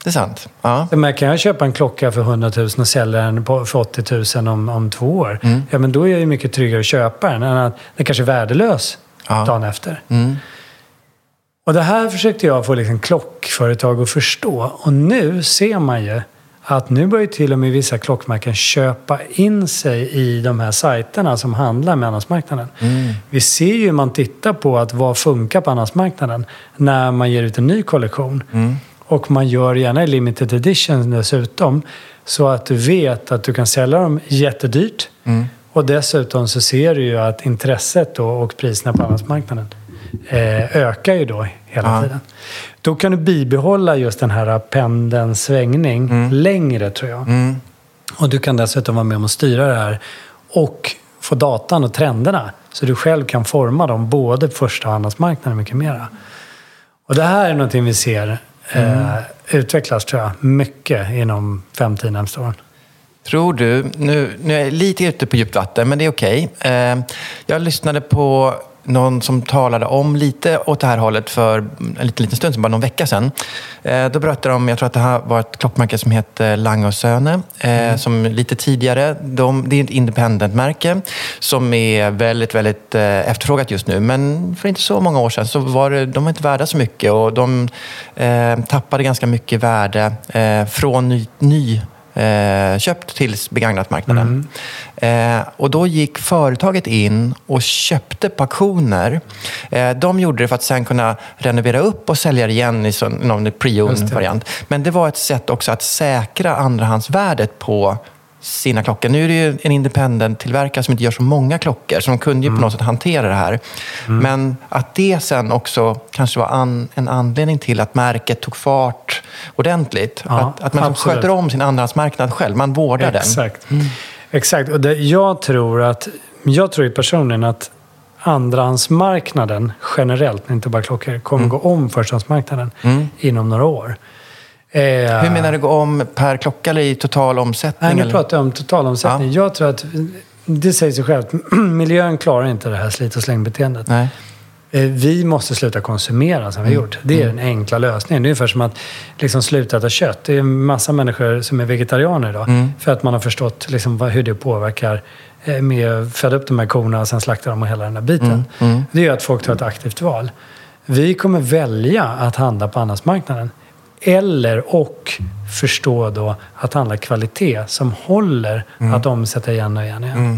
det är sant. Ja. Men kan jag köpa en klocka för 100 000 och sälja den för 80 000 om 2 år? Ja, men då är det mycket tryggare att köpa den än att den kanske är värdelös dagen efter. Och det här försökte jag få liksom klockföretag att förstå. Och nu ser man ju att nu börjar till och med vissa klockmärken köpa in sig i de här sajterna som handlar med andrahandsmarknaden. Vi ser ju hur man tittar på att vad funkar på andrahandsmarknaden när man ger ut en ny kollektion. Och man gör gärna limited edition dessutom så att du vet att du kan sälja dem jättedyrt. Och dessutom så ser du ju att intresset då och priserna på andrahandsmarknaden ökar ju då hela tiden. Då kan du bibehålla just den här pendelns svängning längre, tror jag. Och du kan dessutom vara med om att styra det här och få datan och trenderna så du själv kan forma dem både på första och andrahandsmarknaden och mycket mera. Och det här är någonting vi ser utvecklas, tror jag, mycket inom 5-10 närmaste åren. Tror du, nu är jag lite ute på djupt vatten, men det är okej. Jag lyssnade på någon som talade om lite åt det här hållet för en liten stund, bara någon vecka sedan. Då berättade de, jag tror att det här var ett klockmärke som heter Lange & Söhne, som lite tidigare, det är ett independent-märke som är väldigt, väldigt efterfrågat just nu. Men för inte så många år sedan så var de inte värda så mycket och de tappade ganska mycket värde från köpt till begagnatmarknaden. Och då gick företaget in och köpte på auktioner. De gjorde det för att sen kunna renovera upp och sälja igen i någon pre-owned-variant. Men det var ett sätt också att säkra andrahandsvärdet på sina klockor. Nu är det ju en independent-tillverkare som inte gör så många klockor, som kunde ju på något sätt hantera det här. Men att det sen också kanske var en anledning till att märket tog fart ordentligt. Ja, att man sköter om sin andrahandsmarknad själv. Man vårdar den. Exakt. Och jag tror ju personligen att andrahandsmarknaden generellt, inte bara klockor, kommer gå om förstahandsmarknaden inom några år. Hur menar du, gå om per klocka eller i total omsättning? Nej, nu pratar jag om total omsättning. Ja. Jag tror att det säger sig självt. Miljön klarar inte det här slit- och slängbeteendet. Nej. Vi måste sluta konsumera som vi har gjort. Det är den enkla lösningen. Det är ungefär som att liksom sluta äta kött. Det är en massa människor som är vegetarianer idag. För att man har förstått liksom hur det påverkar med att föda upp de här korna och sen slakta dem och hela den här biten. Det gör att folk tar ett aktivt val. Vi kommer välja att handla på andrahandsmarknaden. Och förstå då att handla kvalitet som håller att omsätta igen och igen.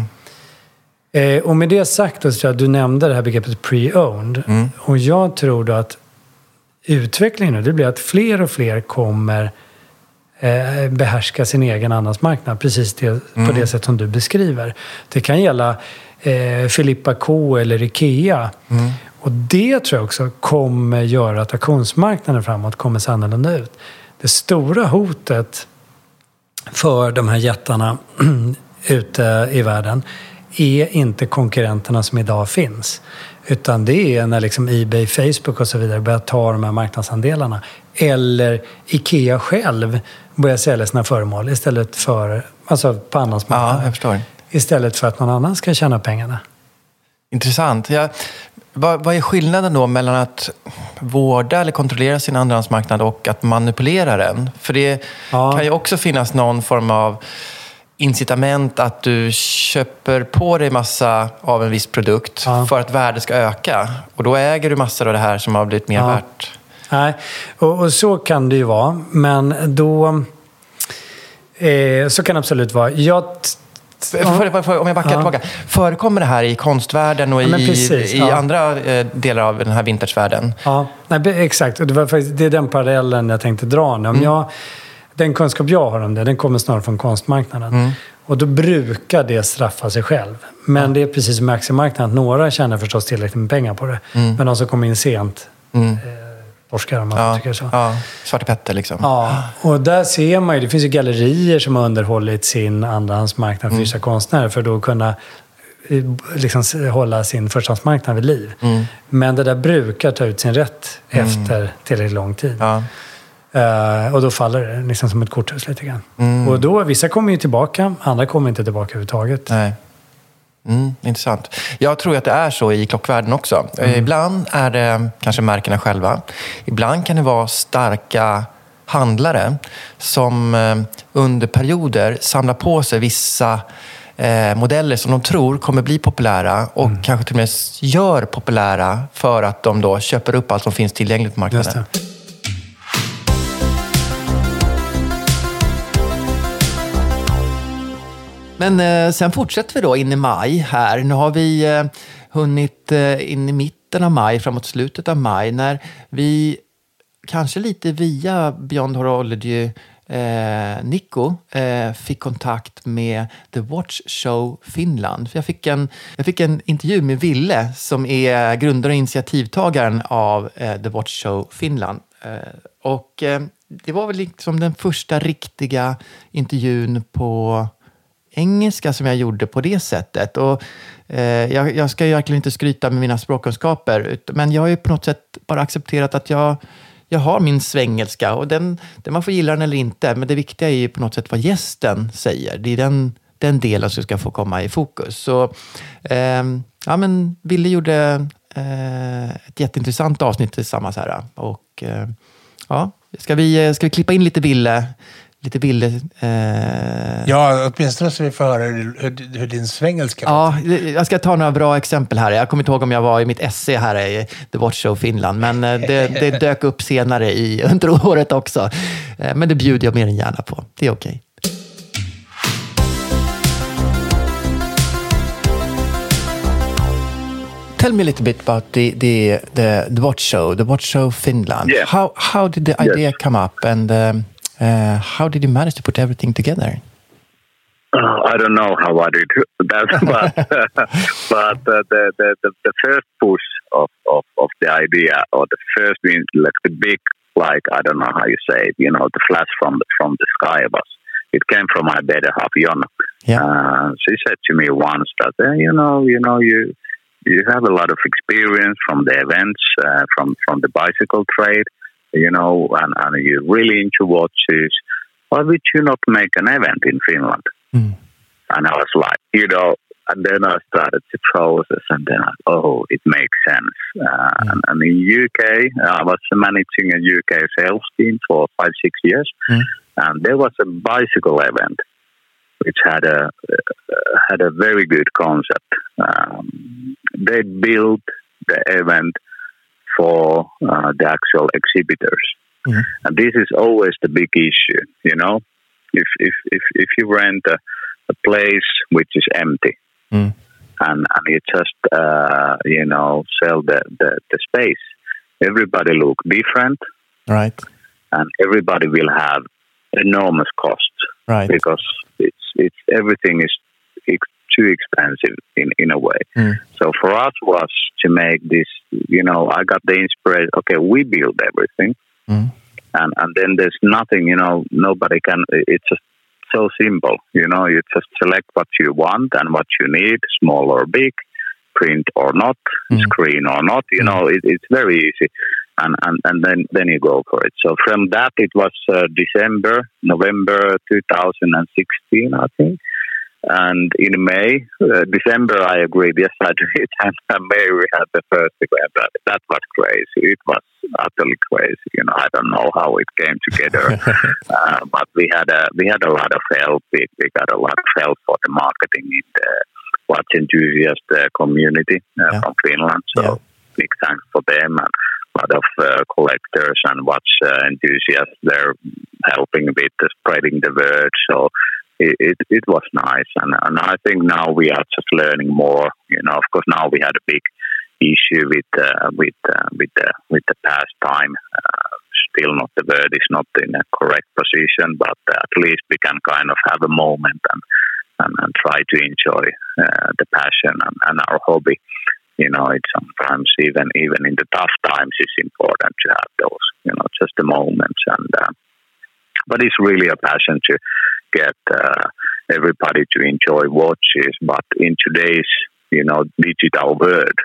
Och med det sagt, så tror jag, du nämnde det här begreppet pre-owned. Och jag tror då att utvecklingen nu, det blir att fler och fler kommer behärska sin egen andrahandsmarknad. Precis på det sätt som du beskriver. Det kan gälla Filippa K eller Ikea. Och det tror jag också kommer göra att auktionsmarknaden framåt kommer se annorlunda ut. Det stora hotet för de här jättarna ute i världen är inte konkurrenterna som idag finns. Utan det är när liksom eBay, Facebook och så vidare börjar ta de här marknadsandelarna. Eller Ikea själv börjar sälja sina föremål istället för, alltså på andrahandsmarknaden. Ja, jag förstår. Istället för att någon annan ska tjäna pengarna. Intressant. Vad är skillnaden då mellan att vårda eller kontrollera sin andrahandsmarknad och att manipulera den? För det kan ju också finnas någon form av incitament att du köper på dig massa av en viss produkt för att värdet ska öka. Och då äger du massor av det här som har blivit mer värt. Nej, och så kan det ju vara. Men då... så kan det absolut vara. Om jag backar tillbaka. Förekommer det här i konstvärlden och i andra delar av den här vintagevärlden? Ja, exakt. Och det är den parallellen jag tänkte dra nu. Den kunskap jag har om det, den kommer snarare från konstmarknaden. Och då brukar det straffa sig själv. Men det är precis som aktiemarknaden. Några tjänar förstås tillräckligt med pengar på det. Men de som kommer in sent forskar om man tycker så. Ja, Svarte Petter liksom. Ja, och där ser man ju, det finns ju gallerier som har underhållit sin andrahandsmarknad för vissa konstnärer för att då kunna liksom hålla sin förstahandsmarknad vid liv. Men det där brukar ta ut sin rätt efter tillräckligt lång tid. Ja. Och då faller det liksom som ett korthus lite grann. Och då, vissa kommer ju tillbaka, andra kommer inte tillbaka överhuvudtaget. Nej. Intressant. Jag tror att det är så i klockvärlden också. Ibland är det kanske märkena själva. Ibland kan det vara starka handlare som under perioder samlar på sig vissa modeller som de tror kommer bli populära och kanske till och med gör populära för att de då köper upp allt som finns tillgängligt på marknaden. Men sen fortsätter vi då in i maj här. Nu har vi hunnit in i mitten av maj, framåt slutet av maj, när vi kanske lite via Beyond Horology Nico fick kontakt med The Watch Show Finland. För jag fick en intervju med Ville som är grundare och initiativtagaren av The Watch Show Finland. Och det var väl liksom den första riktiga intervjun på engelska som jag gjorde på det sättet. Och jag ska ju verkligen inte skryta med mina språkkunskaper, men jag har ju på något sätt bara accepterat att jag har min svengelska och den man får gilla den eller inte, men det viktiga är ju på något sätt vad gästen säger. Det är den delen som ska få komma i fokus. Så ja, men Ville gjorde ett jätteintressant avsnitt tillsammans här. Och ja, ska vi klippa in lite Ville? Ja, åtminstone så vi får höra hur din svengelska var. Ja, jag ska ta några bra exempel här. Jag kommer inte ihåg om jag var i mitt esse här i The Watch Show Finland, men det dök upp senare under året också. Men det bjuder jag mer än gärna på. Det är okej. Tell me a little bit about the Watch Show Finland. Yeah. How did the idea come up, and how did you manage to put everything together? I don't know how I did that, but the first push of the idea, or the first, like the big, like I don't know how you say it, you know, the flash from the sky it came from my better half, Jonna. Yeah. She said to me once that you have a lot of experience from the events, from the bicycle trade, you know, and you're really into watches. Why would you not make an event in Finland? And I was like, you know, and then I started the process, and then it makes sense. And in UK, I was managing a UK sales team for 5-6 years, and there was a bicycle event which had a very good concept. They built the event for the actual exhibitors, and this is always the big issue. You know, if you rent a place which is empty, and you just sell the space, everybody look different, right? And everybody will have enormous costs, right? Because it's everything is too expensive in a way. So for us was to make this, you know, I got the inspiration. Okay, we build everything, and then there's nothing, you know, nobody can. It's just so simple, you know. You just select what you want and what you need, small or big, print or not, screen or not. You know, it's very easy, and then you go for it. So from that, it was November 2016, I think. And in December, I agreed. Yes, I did. And in May, we had the first event. That was crazy. It was utterly crazy. You know, I don't know how it came together, but we had a lot of help. We got a lot of help for the marketing in the watch enthusiast community from Finland. So big thanks for them, and a lot of collectors and watch enthusiasts. They're helping with spreading the word. So. It was nice, and I think now we are just learning more. You know, of course, now we had a big issue with the pastime. Still, not the word is not in a correct position, but at least we can kind of have a moment and try to enjoy the passion and our hobby. You know, it's sometimes even in the tough times, it's important to have those, you know, just the moments. And but it's really a passion to get everybody to enjoy watches. But in today's, you know, digital world,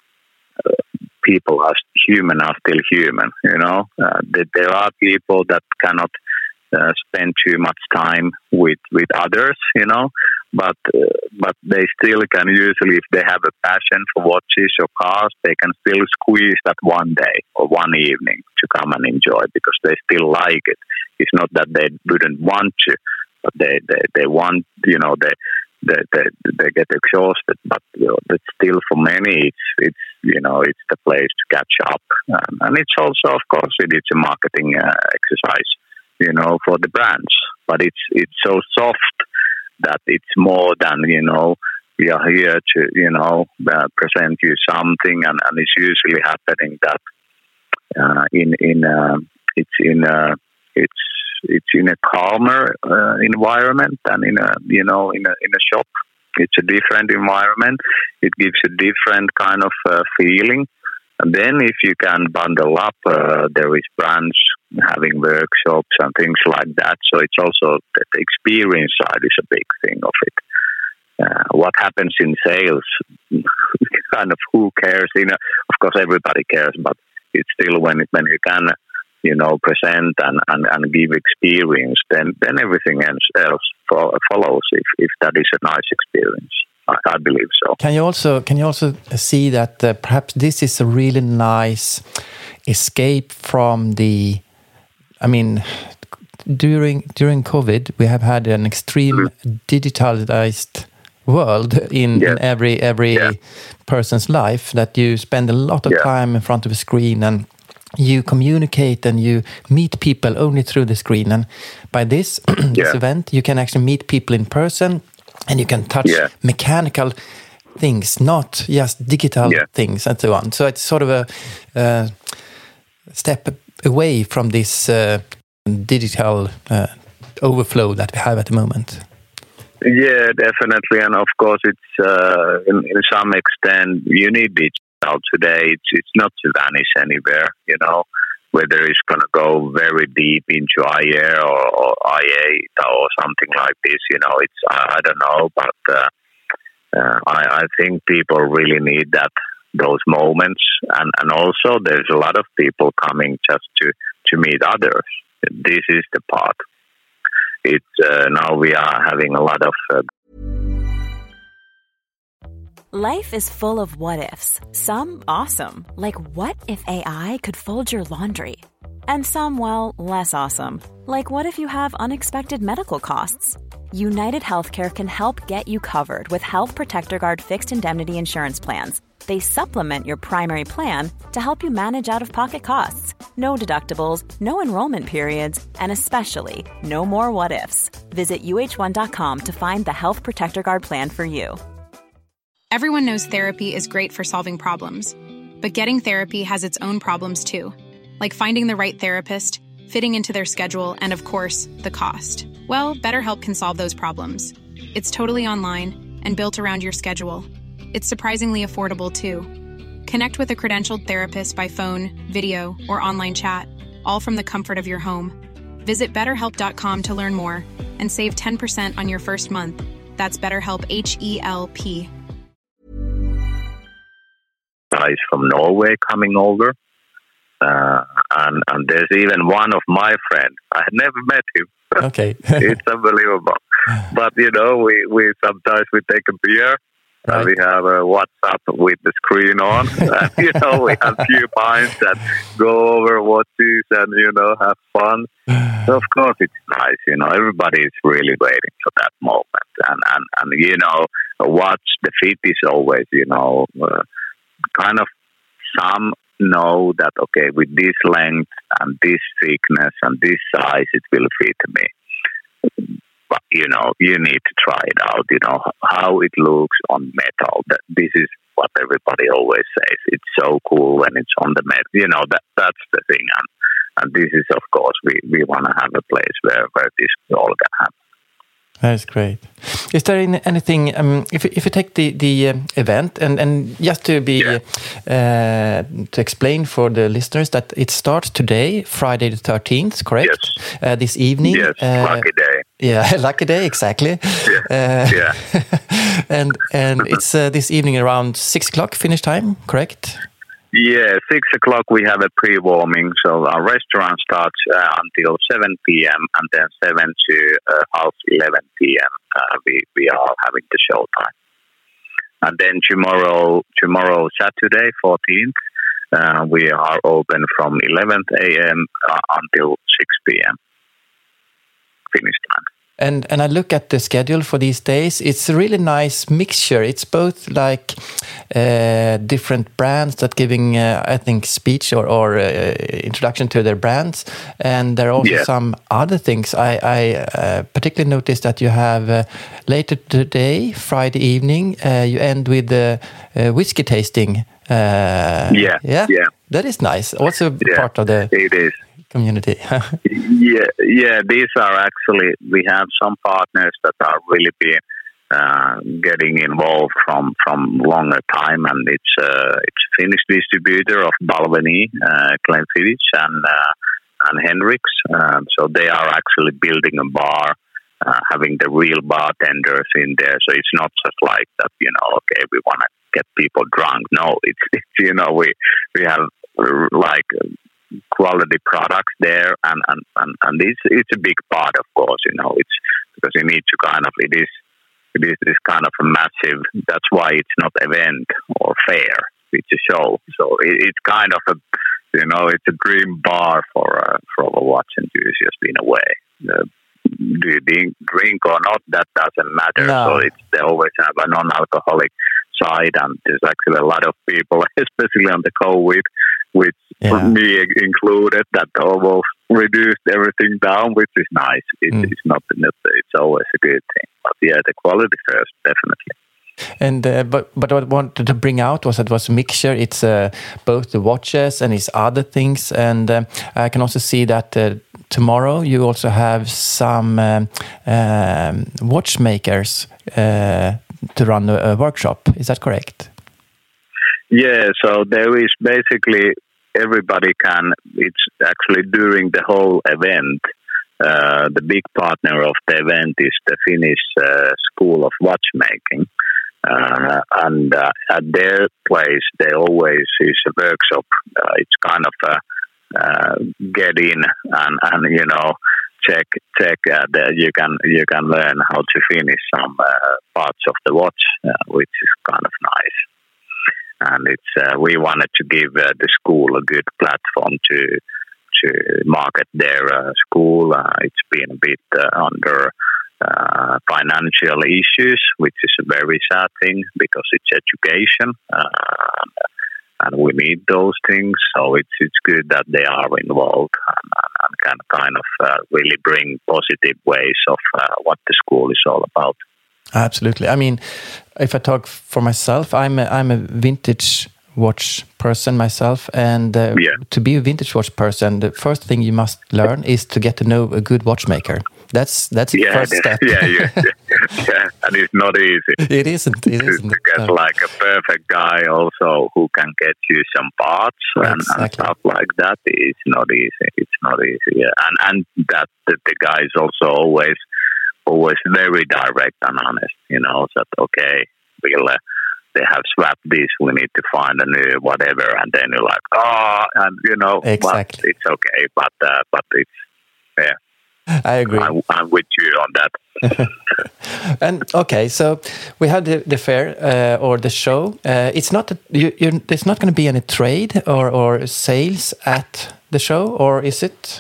people are still human. You know, there are people that cannot spend too much time with others. You know, but they still can usually, if they have a passion for watches or cars, they can still squeeze that one day or one evening to come and enjoy because they still like it. It's not that they wouldn't want to, but they want, you know, they get exhausted. But you know, it's still for many, it's you know, it's the place to catch up, and it's also, of course, it's a marketing exercise, you know, for the brands. But it's so soft that it's more than, you know, we are here to, you know, present you something, and it's usually happening that it's in a calmer environment than in a shop. It's a different environment. It gives a different kind of feeling. And then if you can bundle up, there is brands having workshops and things like that. So it's also the experience side is a big thing of it. What happens in sales, kind of who cares? You know, of course, everybody cares, but it's still when you can, you know, present and give experience, then everything else follows. If that is a nice experience, I believe so. Can you also see that perhaps this is a really nice escape from the? I mean, during COVID, we have had an extreme digitalized world in every person's life. That you spend a lot of time in front of a screen and you communicate and you meet people only through the screen. And by this event, you can actually meet people in person and you can touch mechanical things, not just digital things and so on. So it's sort of a step away from this digital overflow that we have at the moment. Yeah, definitely. And of course, it's in some extent, you need digital today. It's not to vanish anywhere, you know, whether it's going to go very deep into IR or IA or something like this, you know, I don't know. But I think people really need those moments. And also there's a lot of people coming just to meet others. This is the part. It's now we are having a lot of... Life is full of what-ifs. Some awesome, like what if AI could fold your laundry? And some, well, less awesome, like what if you have unexpected medical costs? United Healthcare can help get you covered with Health Protector Guard fixed indemnity insurance plans. They supplement your primary plan to help you manage out-of-pocket costs. No deductibles, no enrollment periods, and especially no more what-ifs. Visit uh1.com to find the Health Protector Guard plan for you. Everyone knows therapy is great for solving problems, but getting therapy has its own problems too, like finding the right therapist, fitting into their schedule, and of course, the cost. Well, BetterHelp can solve those problems. It's totally online and built around your schedule. It's surprisingly affordable too. Connect with a credentialed therapist by phone, video, or online chat, all from the comfort of your home. Visit BetterHelp.com to learn more and save 10% on your first month. That's BetterHelp, H-E-L-P. Guys from Norway coming over, and there's even one of my friends. I had never met him. Okay. It's unbelievable. But you know, we sometimes we take a beer. Right. We have a WhatsApp with the screen on. And, you know, we have a few pints that go over watches and, you know, have fun. So, of course, it's nice. You know, everybody is really waiting for that moment. And you know, a watch, the fit is always, you know, kind of some know that, okay, with this length and this thickness and this size, it will fit me. But, you know, you need to try it out, you know, how it looks on metal. This is what everybody always says. It's so cool when it's on the metal. You know, that's the thing. And this is, of course, we want to have a place where this all can happen. That's great. Is there anything, if you take the event and just to be to explain for the listeners that it starts today, Friday the 13th, correct? Yes. This evening. Yes, lucky day. Yeah, lucky day, exactly. Yeah. And it's this evening around 6 o'clock Finnish time, correct? Yeah, 6 o'clock we have a pre-warming, so our restaurant starts until 7 p.m. and then 7 to half 11 p.m. We are having the show time. And then tomorrow Saturday, 14th, we are open from 11 a.m. Until 6 p.m. Finnish time. And I look at the schedule for these days. It's a really nice mixture. It's both like different brands that giving, I think, speech or introduction to their brands. And there are also some other things. I particularly noticed that you have later today, Friday evening, you end with the whiskey tasting. Yeah. That is nice. Also part of the... It is. Community. These are actually, we have some partners that are really getting involved from longer time, and it's Finnish distributor of Balvenie, Glenfiddich and Henriks. So they are actually building a bar, having the real bartenders in there. So it's not just like that, okay, we want to get people drunk. No, it's we have like quality products there, and it's a big part, of course. It's because you need to kind of it is this kind of a massive. That's why it's not event or fair. It's a show, so it's kind of a it's a dream bar for a watch enthusiast in a way. Do you drink or not? That doesn't matter. No. So they always have a non-alcoholic side, and there's actually a lot of people, especially on the COVID, which me included, that almost reduced everything down, which is nice. It's not. It's always a good thing. But the quality first, definitely. And but what I wanted to bring out was that it was a mixture. It's both the watches and it's other things, and I can also see that tomorrow you also have some watchmakers to run a workshop. Is that correct? Yeah, so there is basically everybody can. It's actually during the whole event. The big partner of the event is the Finnish School of Watchmaking, and at their place they always is a workshop. It's kind of a get in and check that you can learn how to finish some parts of the watch, which is kind of nice. And it's we wanted to give the school a good platform to market their school. It's been a bit under financial issues, which is a very sad thing because it's education, and we need those things. So it's good that they are involved and can kind of really bring positive ways of what the school is all about. Absolutely. I mean, if I talk for myself, I'm a vintage watch person myself, and to be a vintage watch person, the first thing you must learn is to get to know a good watchmaker. That's the first step. And it's not easy. It isn't. To get like a perfect guy also who can get you some parts and stuff like that. It's not easy. It's not easy. Yeah. And that the guy is also always very direct and honest. That okay, they have swapped this. We need to find a new whatever, and then you're like, and exactly. It's okay, but it's I agree. I'm with you on that. And okay, so we have the fair or the show. It's not there's not going to be any trade or sales at the show, or is it?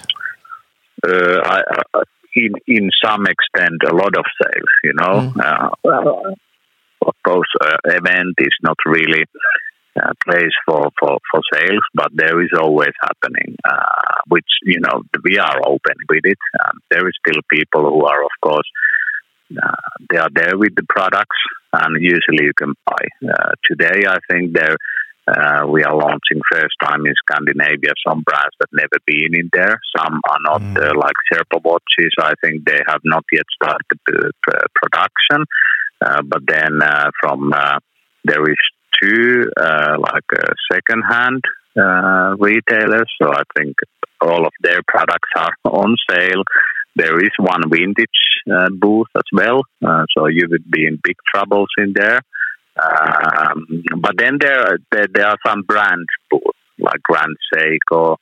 In some extent, a lot of sales. Of course, event is not really a place for sales, but there is always happening, which, we are open with it. There is still people who are, of course, they are there with the products, and usually you can buy. Today, I think we are launching first time in Scandinavia some brands that never been in there. Some are not like Sherpa watches. I think they have not yet started the production. But then there is two second-hand retailers. So I think all of their products are on sale. There is one vintage booth as well. So you would be in big troubles in there. But then there are some brands like Grand Seiko,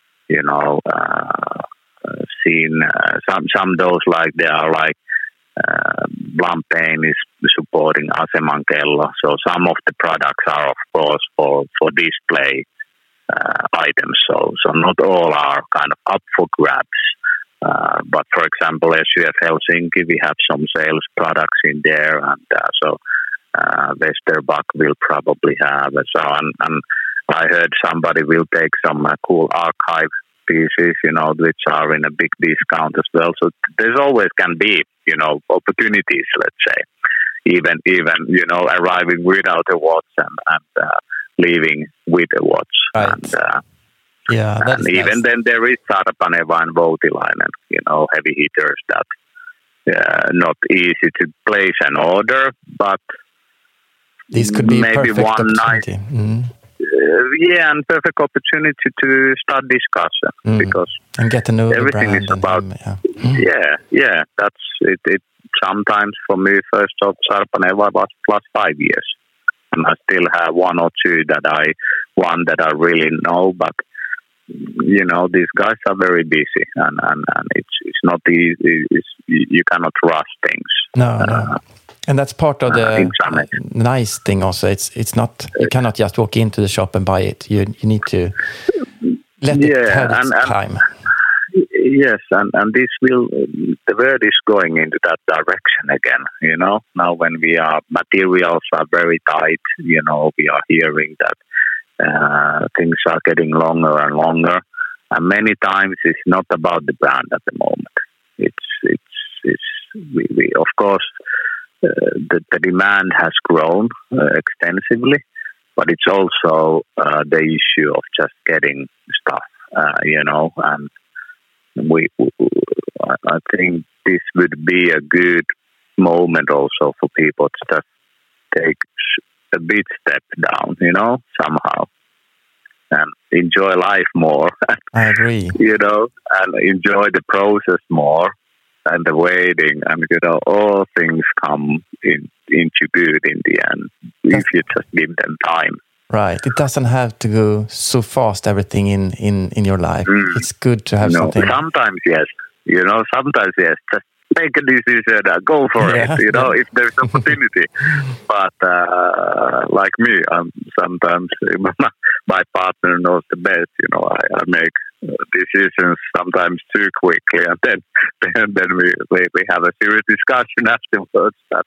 seen some those like they are like Blancpain is supporting Aseman Kello. So some of the products are of course for display items. So not all are kind of up for grabs. But for example, SUF Helsinki, we have some sales products in there, and so Westerbak will probably have. So and I heard somebody will take some cool archive pieces, which are in a big discount as well. So there's always can be, opportunities. Let's say, even arriving without a watch and leaving with a watch. Right. And, that's even nice. then there is Sarpaneva and Voutilainen, heavy hitters that not easy to place an order, but this could be maybe perfect one opportunity. nice, and perfect opportunity to start discussion because and get to know everything the brand is about. That's it. It sometimes for me first job Sarpaneva was plus 5 years, and I still have one or two that I really know, but. These guys are very busy, and it's not easy. You cannot rush things. No. And that's part of the nice thing. Also, it's not you cannot just walk into the shop and buy it. You need to let it have its time. Yes, and this the world is going into that direction again. Now when materials are very tight, we are hearing that. Things are getting longer and longer, and many times it's not about the brand at the moment. We of course the demand has grown extensively, but it's also the issue of just getting stuff, and I think this would be a good moment also for people to just take a bit step down, somehow, and enjoy life more. I agree. And enjoy the process more, and the waiting, and all things come into good in the end if you just give them time. Right. It doesn't have to go so fast. Everything in your life. It's good to have something. Sometimes yes. Sometimes yes. Just make a decision, go for it, if there's opportunity. But like me, sometimes my partner knows the best. I make decisions sometimes too quickly, and then we have a serious discussion afterwards. That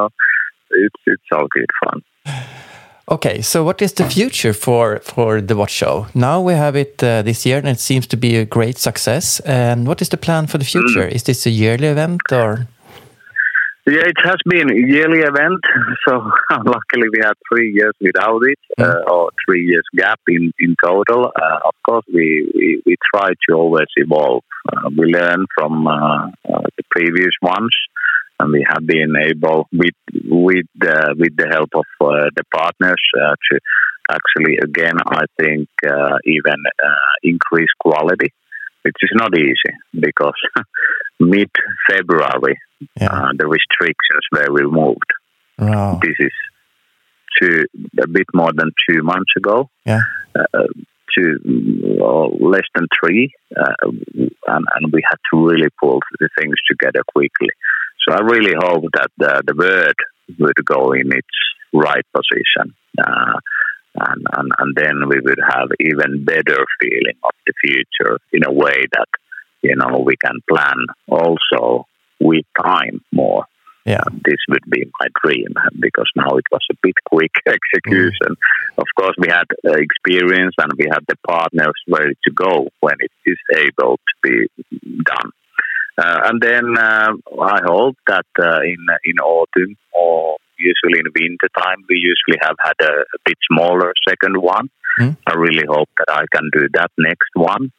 it's all good fun. Okay, so what is the future for the watch show? Now we have it this year, and it seems to be a great success. And what is the plan for the future? Is this a yearly event or? Yeah, it has been a yearly event. So luckily we had 3 years without it, or 3 years gap in total. Of course, we try to always evolve. We learn from the previous ones. And we have been able, with the help of the partners, to actually, again, I think, even increase quality, which is not easy because mid-February, the restrictions were removed. Wow. This is a bit more than 2 months ago. Yeah. To less than 3, and we had to really pull the things together quickly. So I really hope that the word would go in its right position, and then we would have even better feeling of the future in a way that we can plan also with time more. Yeah, this would be my dream because now it was a bit quick execution. Of course, we had experience and we had the partners ready to go when it is able to be done. And then I hope that in autumn or usually in winter time, we usually have had a bit smaller second one. I really hope that I can do that next one.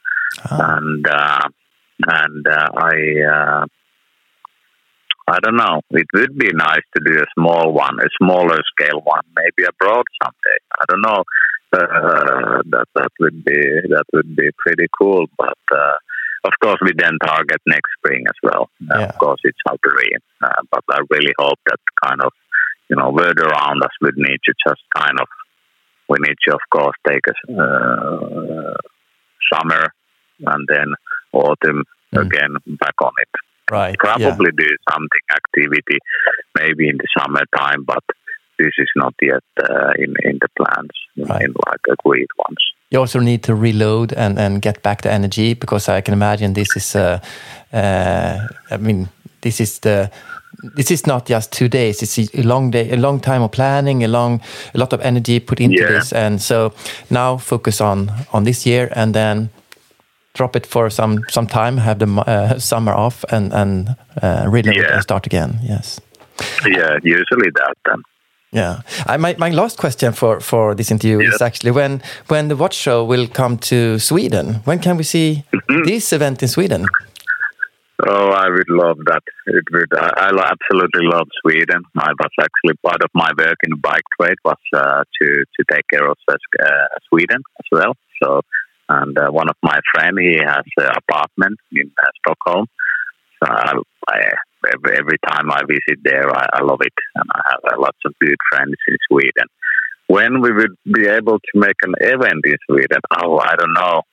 I don't know. It would be nice to do a small one, a smaller scale one, maybe abroad someday. I don't know. That would be pretty cool. But of course, we then target next spring as well. Of course, it's our dream. But I really hope that kind of world around us would need to just we need to, of course, take a summer and then autumn again back on it. Right. Probably do something activity maybe in the summertime, but this is not yet in the plans, in like agreed ones. You also need to reload and get back the energy, because I can imagine this is this is not just 2 days. It's a long day, a long time of planning, a lot of energy put into this, and so now focus on this year, and then drop it for some time, have the summer off, and reload and start again. Yes. Yeah, usually that then. Yeah. My last question for this interview is actually when the watch show will come to Sweden. When can we see this event in Sweden? Oh, I would love that. I absolutely love Sweden. I was actually part of my work in bike trade was to take care of Sweden as well. So, and one of my friends, he has an apartment in Stockholm. So every time I visit there, I love it, and I have lots of good friends in Sweden. When we would be able to make an event in Sweden? Oh, I don't know.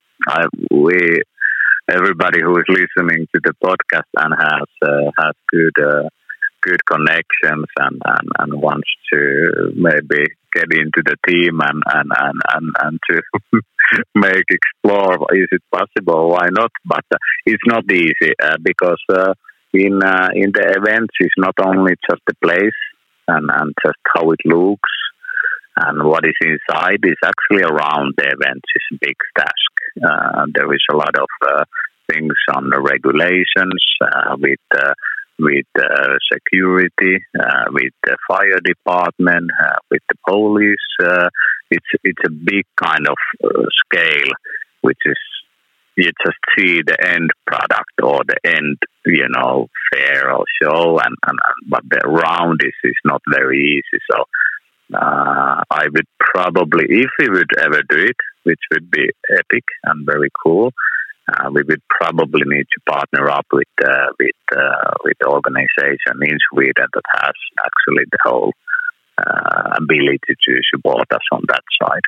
Everybody who is listening to the podcast and has good connections and wants to maybe get into the team and to explore. Is it possible? Why not? But it's not easy because in the events it's not only just the place and just how it looks. And what is inside is actually around the events is a big task. There is a lot of things on the regulations with security, with the fire department, with the police. It's a big kind of scale, which is you just see the end product or the end, fair or show, but the round is not very easy. So. I would probably, if we would ever do it, which would be epic and very cool, we would probably need to partner up with the organization in Sweden that has actually the whole ability to support us on that side,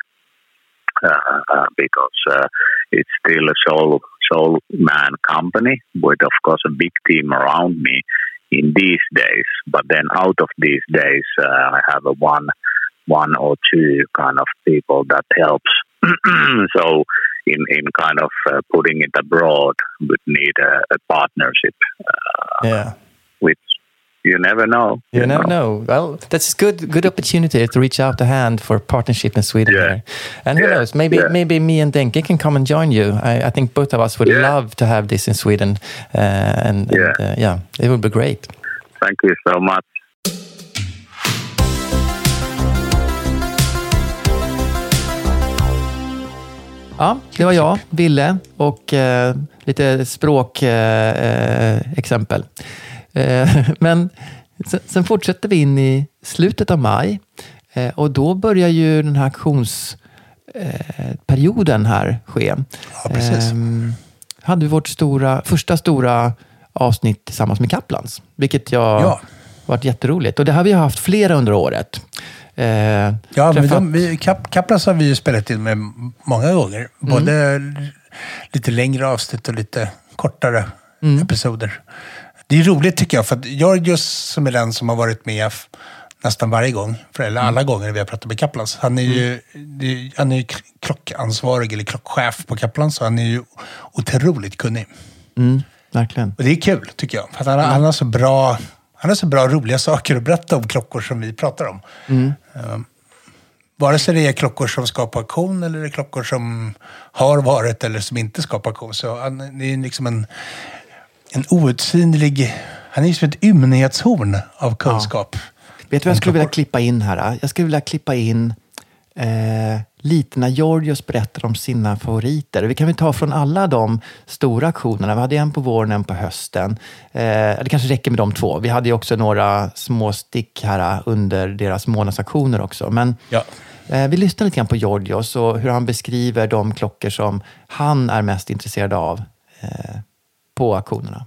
because it's still a sole man company with, of course, a big team around me in these days. But then out of these days, I have one or two kind of people that helps. So in kind of putting it abroad would need a partnership. Which you never know. You never know. Well, that's a good opportunity to reach out a hand for partnership in Sweden. Here. And who knows, maybe me and Denke can come and join you. I think both of us would love to have this in Sweden. It would be great. Thank you so much. Ja, det var jag, Ville, och lite språkexempel. Men sen fortsätter vi in i slutet av maj, och då börjar ju den här auktionsperioden här ske. Ja, precis. Hade vi vårt första stora avsnitt tillsammans med Kaplans, vilket varit jätteroligt. Och det har vi haft flera under året. Kaplans har vi ju spelat in med många gånger. Både lite längre avsnitt och lite kortare episoder. Det är roligt tycker jag, för att Georgios, som är den som har varit med nästan varje gång, eller alla gånger vi har pratat med Kaplans, han är ju klockansvarig eller klockchef på Kaplans, så han är ju otroligt kunnig. Verkligen. Och det är kul tycker jag, för att han har så bra... Han har så bra roliga saker att berätta om klockor som vi pratar om. Vare sig det är klockor som skapar auktion eller det är klockor som har varit eller som inte skapar auktion. Så han är liksom en outsinlig... Han är ju som ett ymnighetshorn av kunskap. Vet du vad jag skulle vilja klippa in här? Jag skulle vilja klippa in lite när Georgios berättar om sina favoriter. Vi kan väl ta från alla de stora auktionerna. Vi hade en på våren, en på hösten. Det kanske räcker med de två. Vi hade ju också några små stick här under deras månadsaktioner också. Men vi lyssnar lite grann på Georgios och hur han beskriver de klockor som han är mest intresserad av på auktionerna.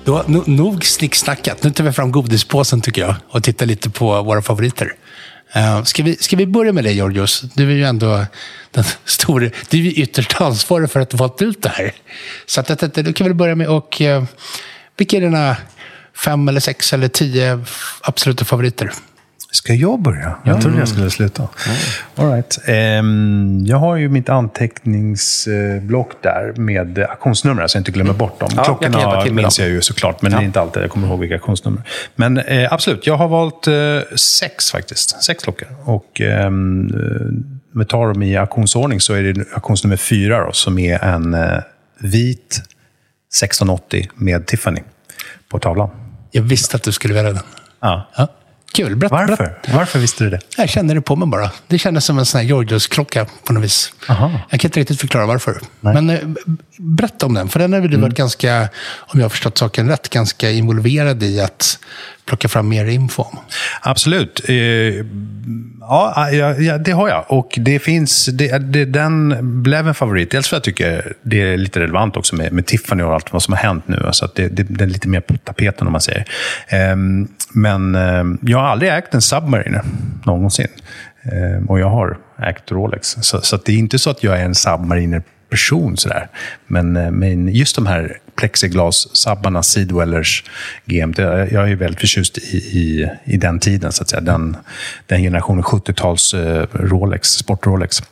Då, nog snicksnackat. Nu tar vi fram godispåsen tycker jag och tittar lite på våra favoriter. Ska vi börja med dig, Georgios? Du är ju ändå den stora... Du är ju ytterst ansvarig för att du fått ut det här. Så att då kan vi börja med och... vilka är dina 5 eller 6 eller 10 absoluta favoriter? Ska jag börja? Jag trodde jag skulle sluta. All right. Jag har ju mitt anteckningsblock där med auktionsnummer så jag inte glömmer bort dem. Klockorna minns jag ju såklart, men det är inte alltid jag kommer ihåg vilka auktionsnummer. Men absolut, jag har valt 6 faktiskt. 6 klockor. Och vi tar dem i auktionsordning så är det auktionsnummer 4 då, som är en vit 1680 med Tiffany på tavlan. Jag visste att du skulle välja den. Ja. Kul, Varför visste du det? Jag kände det på mig bara. Det kändes som en sån här Georgios-klocka på något vis. Aha. Jag kan inte riktigt förklara varför. Nej. Men berätta om den. För den har du varit ganska, om jag har förstått saken rätt, ganska involverad i att plocka fram mer info om. Absolut. Ja, det har jag. Och det finns, den blev en favorit. Dels för att jag tycker det är lite relevant också med Tiffany och allt vad som har hänt nu. Så att det är lite mer på tapeten om man säger. Men jag har aldrig ägt en Submariner någonsin. Och jag har ägt Rolex. Så att det är inte så att jag är en Submariner-person sådär. Men just de här plexiglas-sabbarna, Seedwellers, GMT, jag är väldigt förtjust i den tiden så att säga. Den generationen 70-tals Rolex, sport-Rolex.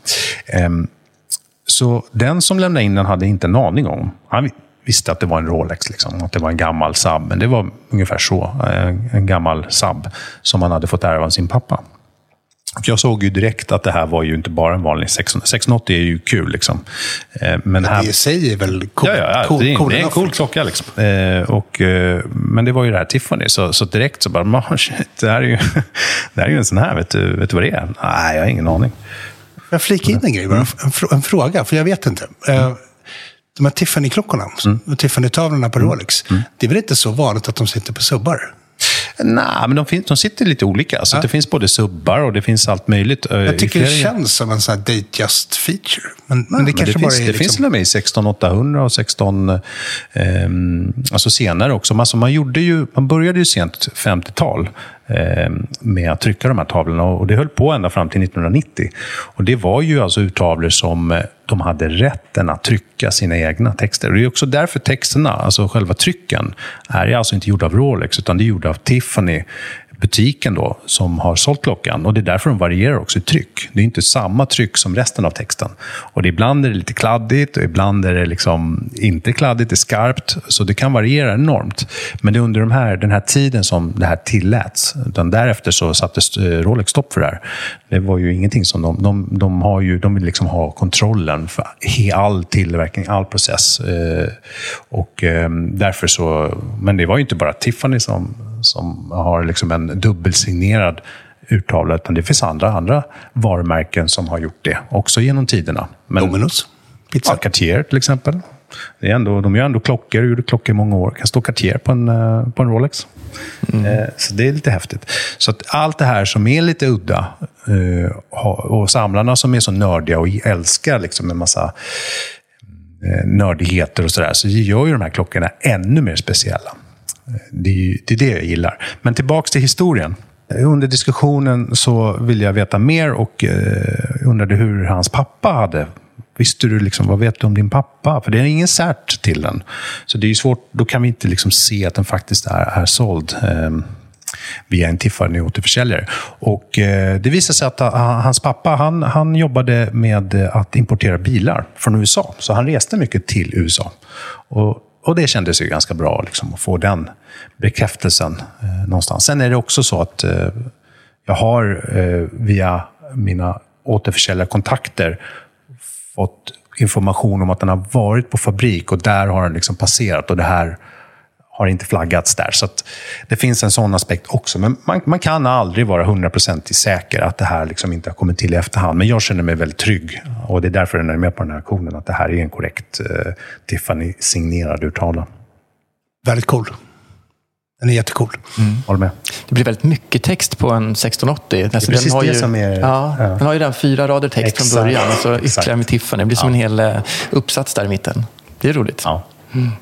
Så den som lämnade in den hade inte en aning om. Han visste att det var en Rolex, liksom, att det var en gammal sub. Men det var ungefär så, en gammal sub som han hade fått ärva av sin pappa. Och jag såg ju direkt att det här var ju inte bara en vanlig 680 är ju kul liksom. Men här, det säger väl cool. Ja, det är en cool klocka liksom. Men det var ju det här Tiffany så direkt så bara shit, det här är ju en sån här, vet du vad det är? Nej, jag har ingen aning. Jag flikar in en grej bara, en fråga, för jag vet inte. De här Tiffany-klockorna och Tiffany-tavlorna på Rolex, det är väl inte så vanligt att de sitter på subbar? Nej, men de sitter lite olika. Så det finns både subbar och det finns allt möjligt. Jag tycker det känns som en sån här date-just feature. Men det kanske bara är... Det finns till och med i 16800 och 16... alltså senare också. Alltså man började ju sent 50-tal med att trycka de här tavlorna. Och det höll på ända fram till 1990. Och det var ju alltså urtavlor som de hade rätten att trycka sina egna texter. Och det är också därför texterna, alltså själva trycken, är alltså inte gjorda av Rolex utan det är gjorda av Tiffany, butiken då, som har sålt klockan. Och det är därför de varierar också i tryck. Det är inte samma tryck som resten av texten. Och ibland är det lite kladdigt och ibland är det liksom inte kladdigt, det är skarpt. Så det kan variera enormt. Men det är under den här tiden som det här tilläts. Utan därefter så sattes Rolex stopp för det här. Det var ju ingenting som de vill liksom ha kontrollen för all tillverkning, all process. Och därför så... Men det var ju inte bara Tiffany som har liksom en dubbelsignerad urtavla, utan det finns andra varumärken som har gjort det också genom tiderna. Men Domino's pizza. Cartier till exempel. Det är ändå, de gör ändå klockor, gjorde klockor i många år. Kan stå Cartier på en Rolex. Så det är lite häftigt. Så att allt det här som är lite udda och samlarna som är så nördiga och älskar liksom en massa nördigheter och sådär, så gör ju de här klockorna ännu mer speciella. Det är det jag gillar. Men tillbaks till historien. Under diskussionen så vill jag veta mer och undrade hur hans pappa hade. Visste du liksom, vad vet du om din pappa? För det är ingen cert till den. Så det är ju svårt, då kan vi inte liksom se att den faktiskt är såld via en Tiffany återförsäljare. Och det visade sig att hans pappa, han jobbade med att importera bilar från USA. Så han reste mycket till USA. Och det kändes ju ganska bra liksom, att få den bekräftelsen någonstans. Sen är det också så att jag har via mina återförsäljarkontakter fått information om att den har varit på fabrik och där har den liksom passerat och det här har inte flaggats där. Så att det finns en sån aspekt också. Men man kan aldrig vara 100% säker att det här liksom inte har kommit till i efterhand. Men jag känner mig väldigt trygg. Och det är därför jag är med på den här auktionen. Att det här är en korrekt Tiffany-signerad urtavla. Väldigt cool. Den är jättecool. Håller med. Det blir väldigt mycket text på en 1680. Alltså, den har ju, som är... Den har ju den 4 rader text från början. Och så ytterligare med Tiffany. Det blir som en hel uppsats där i mitten. Det är roligt. Ja.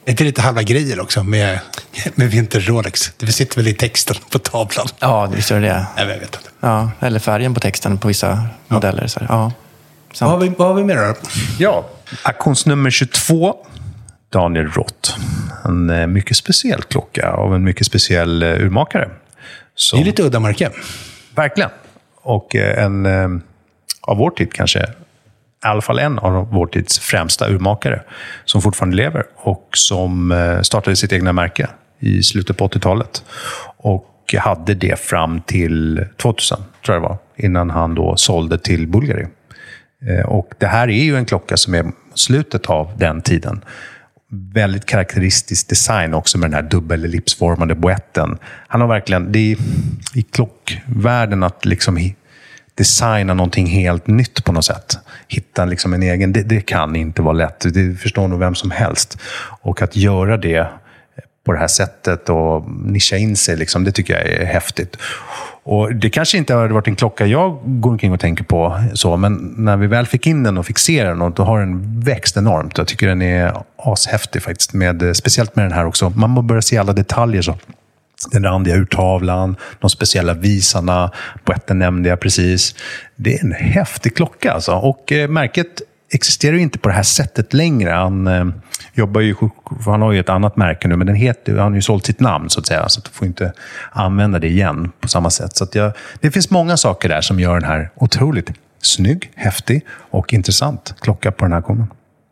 Är det lite halva grejer också med Vinter Rolex? Det sitter väl i texten på tavlan? Ja, visst är det. Jag vet inte. Ja, eller färgen på texten på vissa modeller. Så ja, vad har vi med då? Ja, auktionsnummer 22. Daniel Roth. En mycket speciell klocka av en mycket speciell urmakare. Det är lite udda märke. Verkligen. Och en av vår tid kanske, i alla fall en av vår tids främsta urmakare som fortfarande lever och som startade sitt egna märke i slutet på 80-talet. Och hade det fram till 2000, tror jag det var, innan han då sålde till Bulgari. Och det här är ju en klocka som är slutet av den tiden. Väldigt karaktäristisk design också med den här dubbellipsformade boetten. Han har verkligen, det är i klockvärlden att liksom designa någonting helt nytt på något sätt. Hitta liksom en egen, det kan inte vara lätt. Det förstår nog vem som helst. Och att göra det på det här sättet och nischa in sig, liksom, det tycker jag är häftigt. Och det kanske inte har varit en klocka jag går omkring och tänker på så, men när vi väl fick in den och fixerade den, och då har den växt enormt. Jag tycker den är ashäftig faktiskt, speciellt med den här också. Man må börja se alla detaljer så. Den randiga urtavlan, de speciella visarna, boetten nämnde jag precis. Det är en häftig klocka alltså. Och märket existerar ju inte på det här sättet längre. Han jobbar ju, han har ju ett annat märke nu, men han har ju sålt sitt namn så att säga, så att du får inte använda det igen på samma sätt. Så att det finns många saker där som gör den här otroligt snygg, häftig och intressant klocka på den här konen.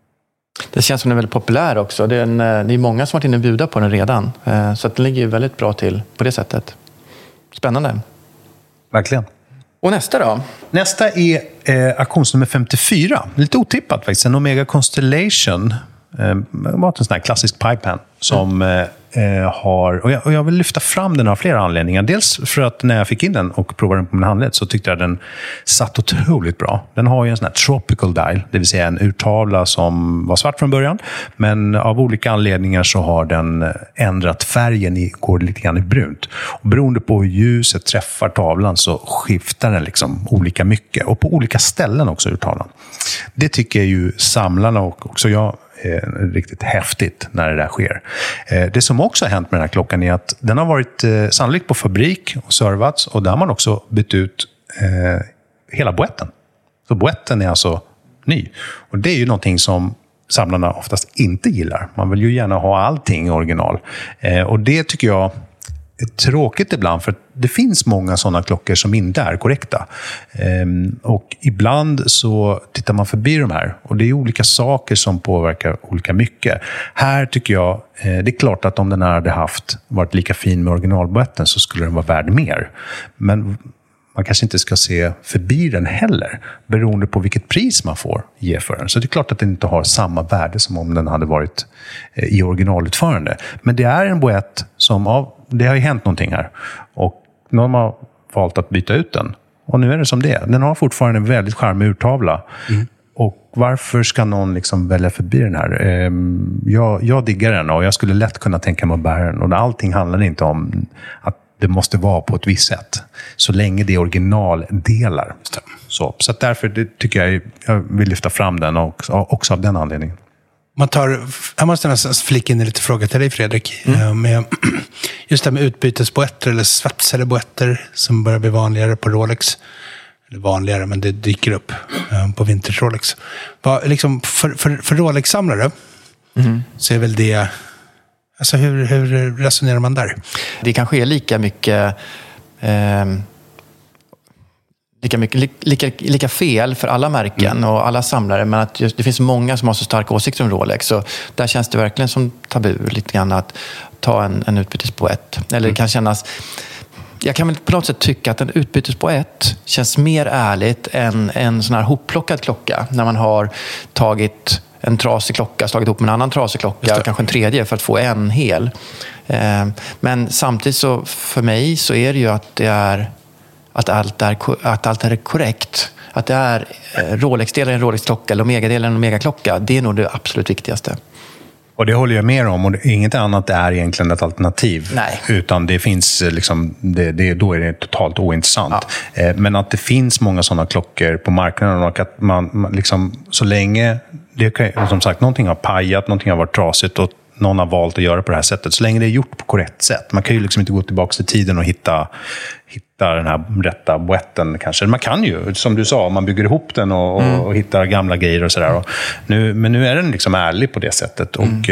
Det känns som den är väldigt populär också. Det är många som har varit inne och bjuda på den redan. Så att den ligger ju väldigt bra till på det sättet. Spännande. Verkligen. Och nästa då? Nästa är auktionsnummer 54. Lite otippat faktiskt. En Omega Constellation. Var en sån här klassisk pipepan som har... Och jag vill lyfta fram den av flera anledningar. Dels för att när jag fick in den och provade den på min handled så tyckte jag den satt otroligt bra. Den har ju en sån här tropical dial, det vill säga en urtavla som var svart från början. Men av olika anledningar så har den ändrat färgen, går lite grann i brunt. Och beroende på hur ljuset träffar tavlan så skiftar den liksom olika mycket. Och på olika ställen också urtavlan. Det tycker ju samlarna och också jag riktigt häftigt när det där sker. Det som också har hänt med den här klockan är att den har varit sannolikt på fabrik och servats, och där har man också bytt ut hela boetten. Så boetten är alltså ny. Och det är ju någonting som samlarna oftast inte gillar. Man vill ju gärna ha allting i original. Och det tycker jag är tråkigt ibland, för det finns många sådana klockor som inte är korrekta. Och ibland så tittar man förbi de här, och det är olika saker som påverkar olika mycket. Här tycker jag, det är klart att om den här hade varit lika fin med originalboetten så skulle den vara värd mer. Men man kanske inte ska se förbi den heller, beroende på vilket pris man får ge för den. Så det är klart att den inte har samma värde som om den hade varit i originalutförande. Men det är en boett som det har ju hänt någonting här. Och någon har valt att byta ut den. Och nu är det som det är. Den har fortfarande en väldigt charmig urtavla. Mm. Och varför ska någon liksom välja förbi den här? Jag diggar den, och jag skulle lätt kunna tänka mig att bära den. Och allting handlar inte om att det måste vara på ett visst sätt. Så länge det är originaldelar. Så att därför tycker jag vill lyfta fram den också av den anledningen. Jag måste nästan flika in en lite fråga till dig, Fredrik. Med just det här med utbytesboetter eller svetsade boetter som börjar bli vanligare på Rolex. Eller vanligare, men det dyker upp på vintage Rolex. Liksom för Rolex-samlare så är väl det... Alltså hur resonerar man där? Det kanske är lika fel för alla märken och alla samlare, men att det finns många som har så starka åsikter om Rolex, så där känns det verkligen som tabu lite grann att ta en utbytesboett. Eller det kan kännas... Jag kan väl på något sätt tycka att en utbytesboett känns mer ärligt än en sån här hopplockad klocka, när man har tagit en trasig klocka, slagit ihop med en annan trasig klocka och kanske en tredje för att få en hel. Men samtidigt så för mig så är det ju att allt är korrekt. Att det är Rolex-delen en Rolex-klocka eller Omega-delen en Omega-klocka. Det är nog det absolut viktigaste. Och det håller jag med om, och inget annat är egentligen ett alternativ. Nej. Utan det finns liksom, då är det totalt ointressant. Ja. Men att det finns många sådana klockor på marknaden, och att man liksom, så länge det som sagt, någonting har pajat, någonting har varit trasigt, och någon har valt att göra på det här sättet. Så länge det är gjort på korrekt sätt. Man kan ju liksom inte gå tillbaka till tiden och hitta den här rätta boetten kanske. Man kan ju, som du sa, man bygger ihop den och hittar gamla grejer och sådär. Men nu är den liksom ärlig på det sättet. Och,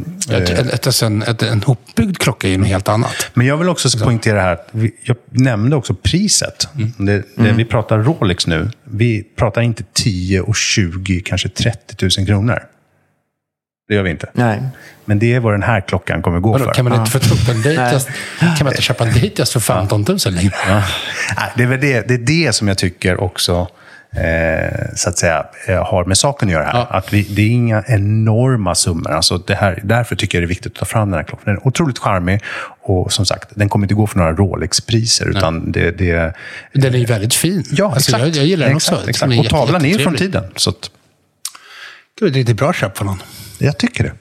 en hopbyggd klocka är ju något helt annat. Men jag vill också poängtera här att jag nämnde också priset. Vi pratar Rolex nu. Vi pratar inte 10 och 20, kanske 30 000 kronor. Det gör vi inte. Nej. Men det är vad den här klockan kommer gå för. Kan man inte få upp en Datejust? Kan man inte köpa en Datejust för 15 000 längre? Ja. Det är det som jag tycker också så att säga har med saken att göra här. Ja. Att det är inga enorma summor. Alltså därför tycker jag det är viktigt att ta fram den här klockan. Den är otroligt charmig och som sagt, den kommer inte gå för några Rolex-priser. Utan den är ju väldigt fin. Ja, alltså, exakt. Jag gillar den också. Exakt. Och tavlan är ju från tiden. Så att... Det är lite bra köp för någon. Jag tycker det.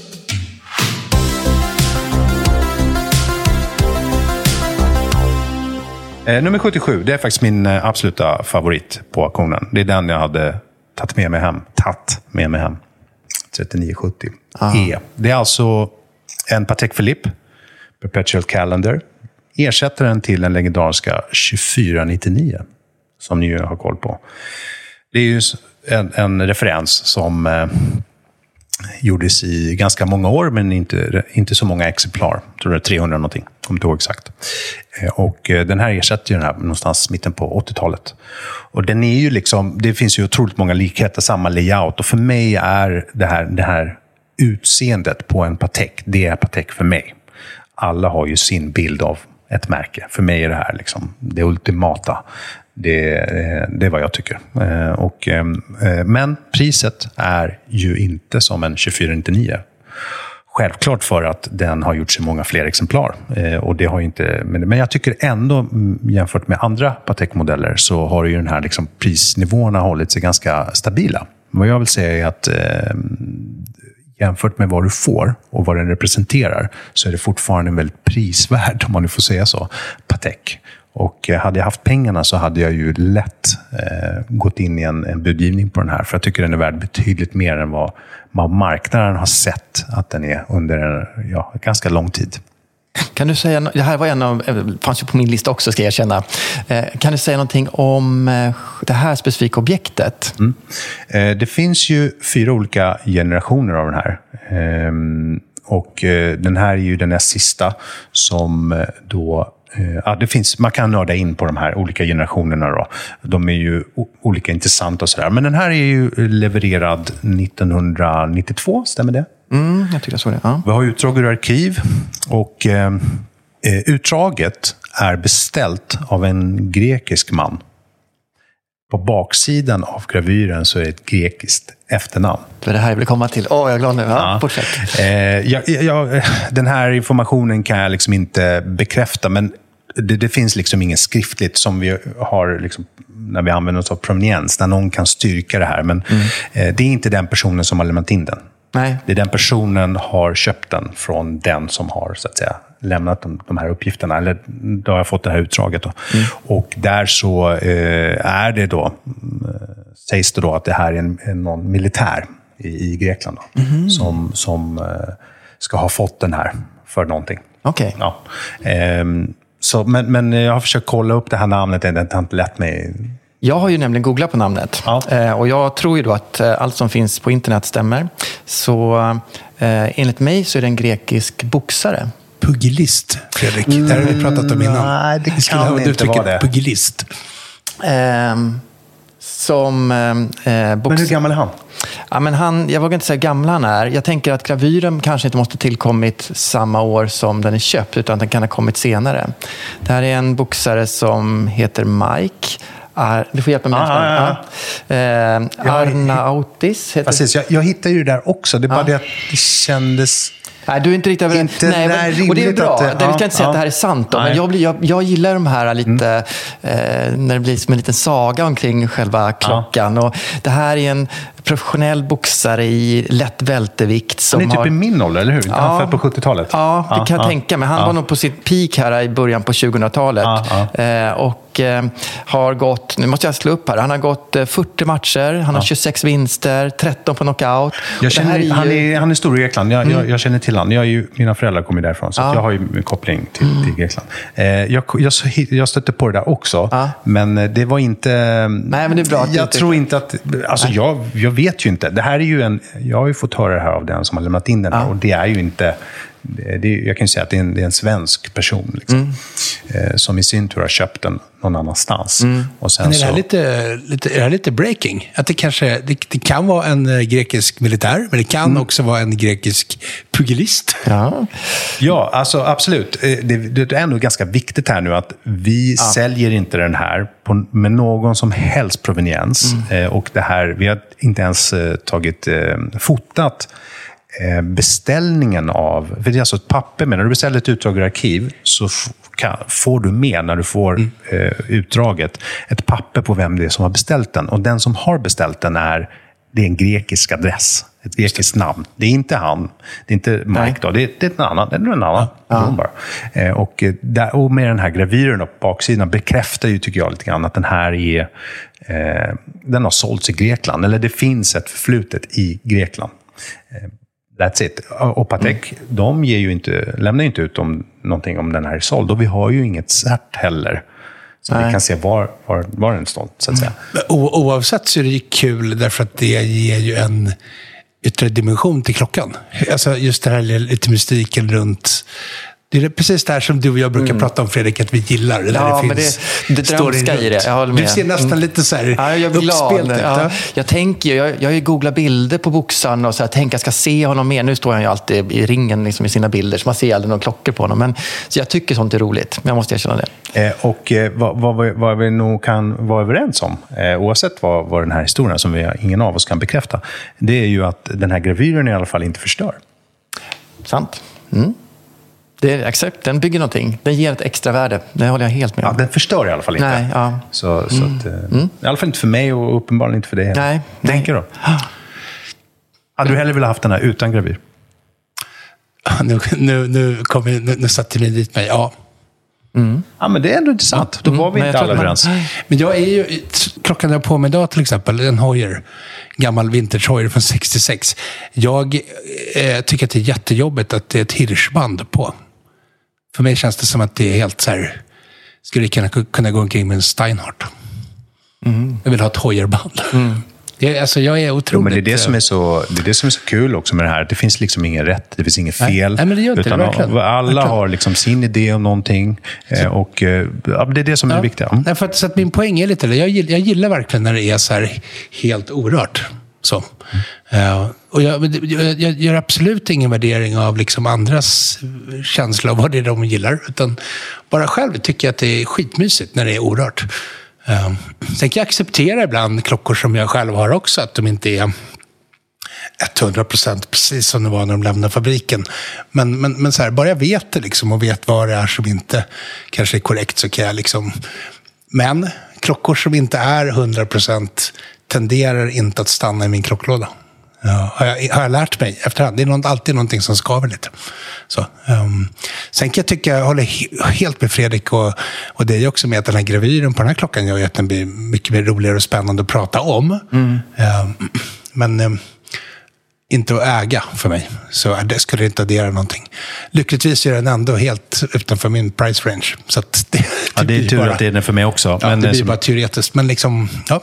Nummer 77, det är faktiskt min absoluta favorit på auktionen. Det är den jag hade tagit med mig hem. 3970 E. Det är alltså en Patek Philippe Perpetual Calendar. Ersättaren till den legendariska 2499 som ni har koll på. Det är ju en referens som gjordes i ganska många år, men inte så många exemplar. Jag tror det är 300 någonting, kommer inte ihåg exakt. Och den här ersätter ju den här någonstans mitten på 80-talet. Och den är ju liksom, det finns ju otroligt många likheter, samma layout. Och för mig är det här utseendet på en Patek, det är Patek för mig. Alla har ju sin bild av ett märke. För mig är det här liksom det ultimata. Det är vad jag tycker. Men priset är ju inte som en 2499. Självklart för att den har gjorts i många fler exemplar. Och det har inte, men jag tycker ändå, jämfört med andra Patek-modeller, så har ju den här liksom prisnivåerna hållit sig ganska stabila. Vad jag vill säga är att jämfört med vad du får och vad den representerar, så är det fortfarande väldigt prisvärd, om man nu får säga så, Patek. Och hade jag haft pengarna så hade jag ju lätt gått in i en budgivning på den här. För jag tycker den är värd betydligt mer än vad marknaden har sett att den är under en ganska lång tid. Kan du säga, det här var fanns ju på min lista också, ska jag erkänna. Kan du säga någonting om det här specifika objektet? Det finns ju 4 olika generationer av den här. Och den här är ju den näst sista som då... det finns, man kan nörda in på de här olika generationerna då. De är ju olika intressanta och sådär. Men den här är ju levererad 1992, stämmer det? Jag tycker så det. Ja. Vi har utdrag ur arkiv och utdraget är beställt av en grekisk man. På baksidan av gravyren så är det ett grekiskt efternamn. Det är det här jag vill komma till. Jag är glad nu. Ja, fortsätt. Den här informationen kan jag liksom inte bekräfta, men det finns liksom ingen skriftligt som vi har liksom, när vi använder oss av proveniens, när någon kan styrka det här. Men det är inte den personen som har lämnat in den. Nej. Det är den personen har köpt den från den som har, så att säga, lämnat de här uppgifterna. Eller då har jag fått det här utdraget då. Och där så är det då, sägs det då att det här är någon militär i Grekland då, som ska ha fått den här för någonting. Okej. Ja. Men jag har försökt kolla upp det här namnet, det har inte lätt mig. Jag har ju nämligen googlat på namnet. Ja. Och jag tror ju då att allt som finns på internet stämmer. Så enligt mig så är det en grekisk boxare. Pugilist, Fredrik. Det här har vi pratat om innan. Nej, det kan inte vara det. Pugilist. Men hur gammal är han? Ja, men jag vågar inte säga hur gammal han är. Jag tänker att gravyren kanske inte måste tillkommit samma år som den är köpt, utan den kan ha kommit senare. Det här är en boxare som heter Mike. Du får hjälpa mig. Arnautis heter. Precis, jag hittade ju det där också. Det är bara det att det kändes... Nej, du är inte riktigt överens. Nej, och det är bra. Vi ska inte säga att det här är sant då, men jag gillar de här lite när det blir som en liten saga omkring själva klockan. Och det här är en professionell boxare i lätt vältevikt. Han är typ i min ålder, eller hur? Han född på 70-talet. Ja, det kan jag tänka mig. Han var nog på sitt peak här i början på 2000-talet. Och har gått, nu måste jag slå upp här, han har gått 40 matcher, han har 26 vinster, 13 på knockout. Han är stor i Grekland, jag känner till Irland. Mina föräldrar kommer därifrån, så jag har ju en koppling till Grekland. Jag stötte på det där också, men det var inte... Nej, men det är bra att jag tror inte att... Alltså jag vet ju inte. Det här är ju jag har ju fått höra det här av den som har lämnat in den här, och det är ju inte... jag kan ju säga att det är en svensk person liksom, som i sin tur har köpt den någon annanstans. Och sen men är det här lite breaking? Att det kan vara en grekisk militär, men det kan också vara en grekisk pugilist. Ja, alltså absolut. Det är ändå ganska viktigt här nu att vi säljer inte den här med någon som helst proveniens. Och det här, vi har inte ens fotat beställningen av, för det är alltså ett papper med, när du beställer ett utdrag ur arkiv så får du med, när du får utdraget, ett papper på vem det är som har beställt den, och den som har beställt den det är en grekisk adress, ett grekiskt namn. Det är inte han, det är inte Mike då, det är en annan. Och med den här gravyren på baksidan bekräftar ju, tycker jag, lite grann att den här den har sålts i Grekland, eller det finns ett förflutet i Grekland. That's it. Och Patek, de lämnar ju inte ut någonting om den här är såld. Och vi har ju inget cert heller. Så vi kan se var den står, så att säga. Oavsett så är det ju kul, därför att det ger ju en yttre dimension till klockan. Alltså just det här lite mystiken runt... Det är precis det här som du och jag brukar prata om, Fredrik, att vi gillar. Ja, men det drömska i det. Jag håller med. Du ser nästan lite så här uppspelt ut. Jag har ju googlat bilder på boxaren och så här, tänker jag ska se honom mer. Nu står han ju alltid i ringen liksom, i sina bilder, så man ser aldrig några klockor på honom. Men, så jag tycker sånt är roligt, men jag måste erkänna det. Och vad vi nog kan vara överens om, oavsett vad den här historien som ingen av oss kan bekräfta, det är ju att den här gravyren i alla fall inte förstör. Sant. Den bygger någonting. Den ger ett extra värde. Det håller jag helt med om. Ja, den förstör i alla fall inte. Nej, så att, i alla fall inte för mig och uppenbarligen inte för dig. Nej. Tänker då? Hade du hellre velat haft den här utan gravyr? Nu satte ni dit mig. Ja. Ja, men det är ändå intressant. Då var vi inte alla överens. Men jag är ju... Klockan jag på mig idag till exempel, en Heuer. Gammal vintage Heuer från 66. Jag tycker att det är jättejobbigt att det är ett hirschband på. För mig känns det som att det är helt så här... Skulle kunna gå omkring med en Steinhardt. Jag vill ha ett Heuerband. Jag är otroligt... Men det är det som är så kul också med det här. Det finns liksom ingen rätt, det finns inget fel. Nej, men det gör inte det, alla har liksom sin idé om någonting. Och det är det som är det viktiga. Nej, för att min poäng är lite... Jag gillar verkligen när det är så här helt orört. Så. Och jag gör absolut ingen värdering av liksom andras känsla av vad det är de gillar. Utan bara själv tycker jag att det är skitmysigt när det är orört. Sen kan jag acceptera ibland klockor som jag själv har också, att de inte är 100% precis som det var när de lämnade fabriken. Men så här, bara jag vet det liksom, och vet vad det är som inte kanske är korrekt, så kan jag liksom... Men klockor som inte är 100% tenderar inte att stanna i min klocklåda. Har jag lärt mig efterhand. Det är alltid någonting som skaver lite. Så, sen kan jag tycka, jag håller helt med Fredrik och det är också med att den här gravyren på den här klockan gör att den blir mycket mer roligare och spännande att prata om. Men inte att äga för mig. Så det skulle inte addera någonting. Lyckligtvis är den ändå helt utanför min price range. Så att det är tur att det är den för mig också. Ja, men det blir bara teoretiskt. Men liksom, ja.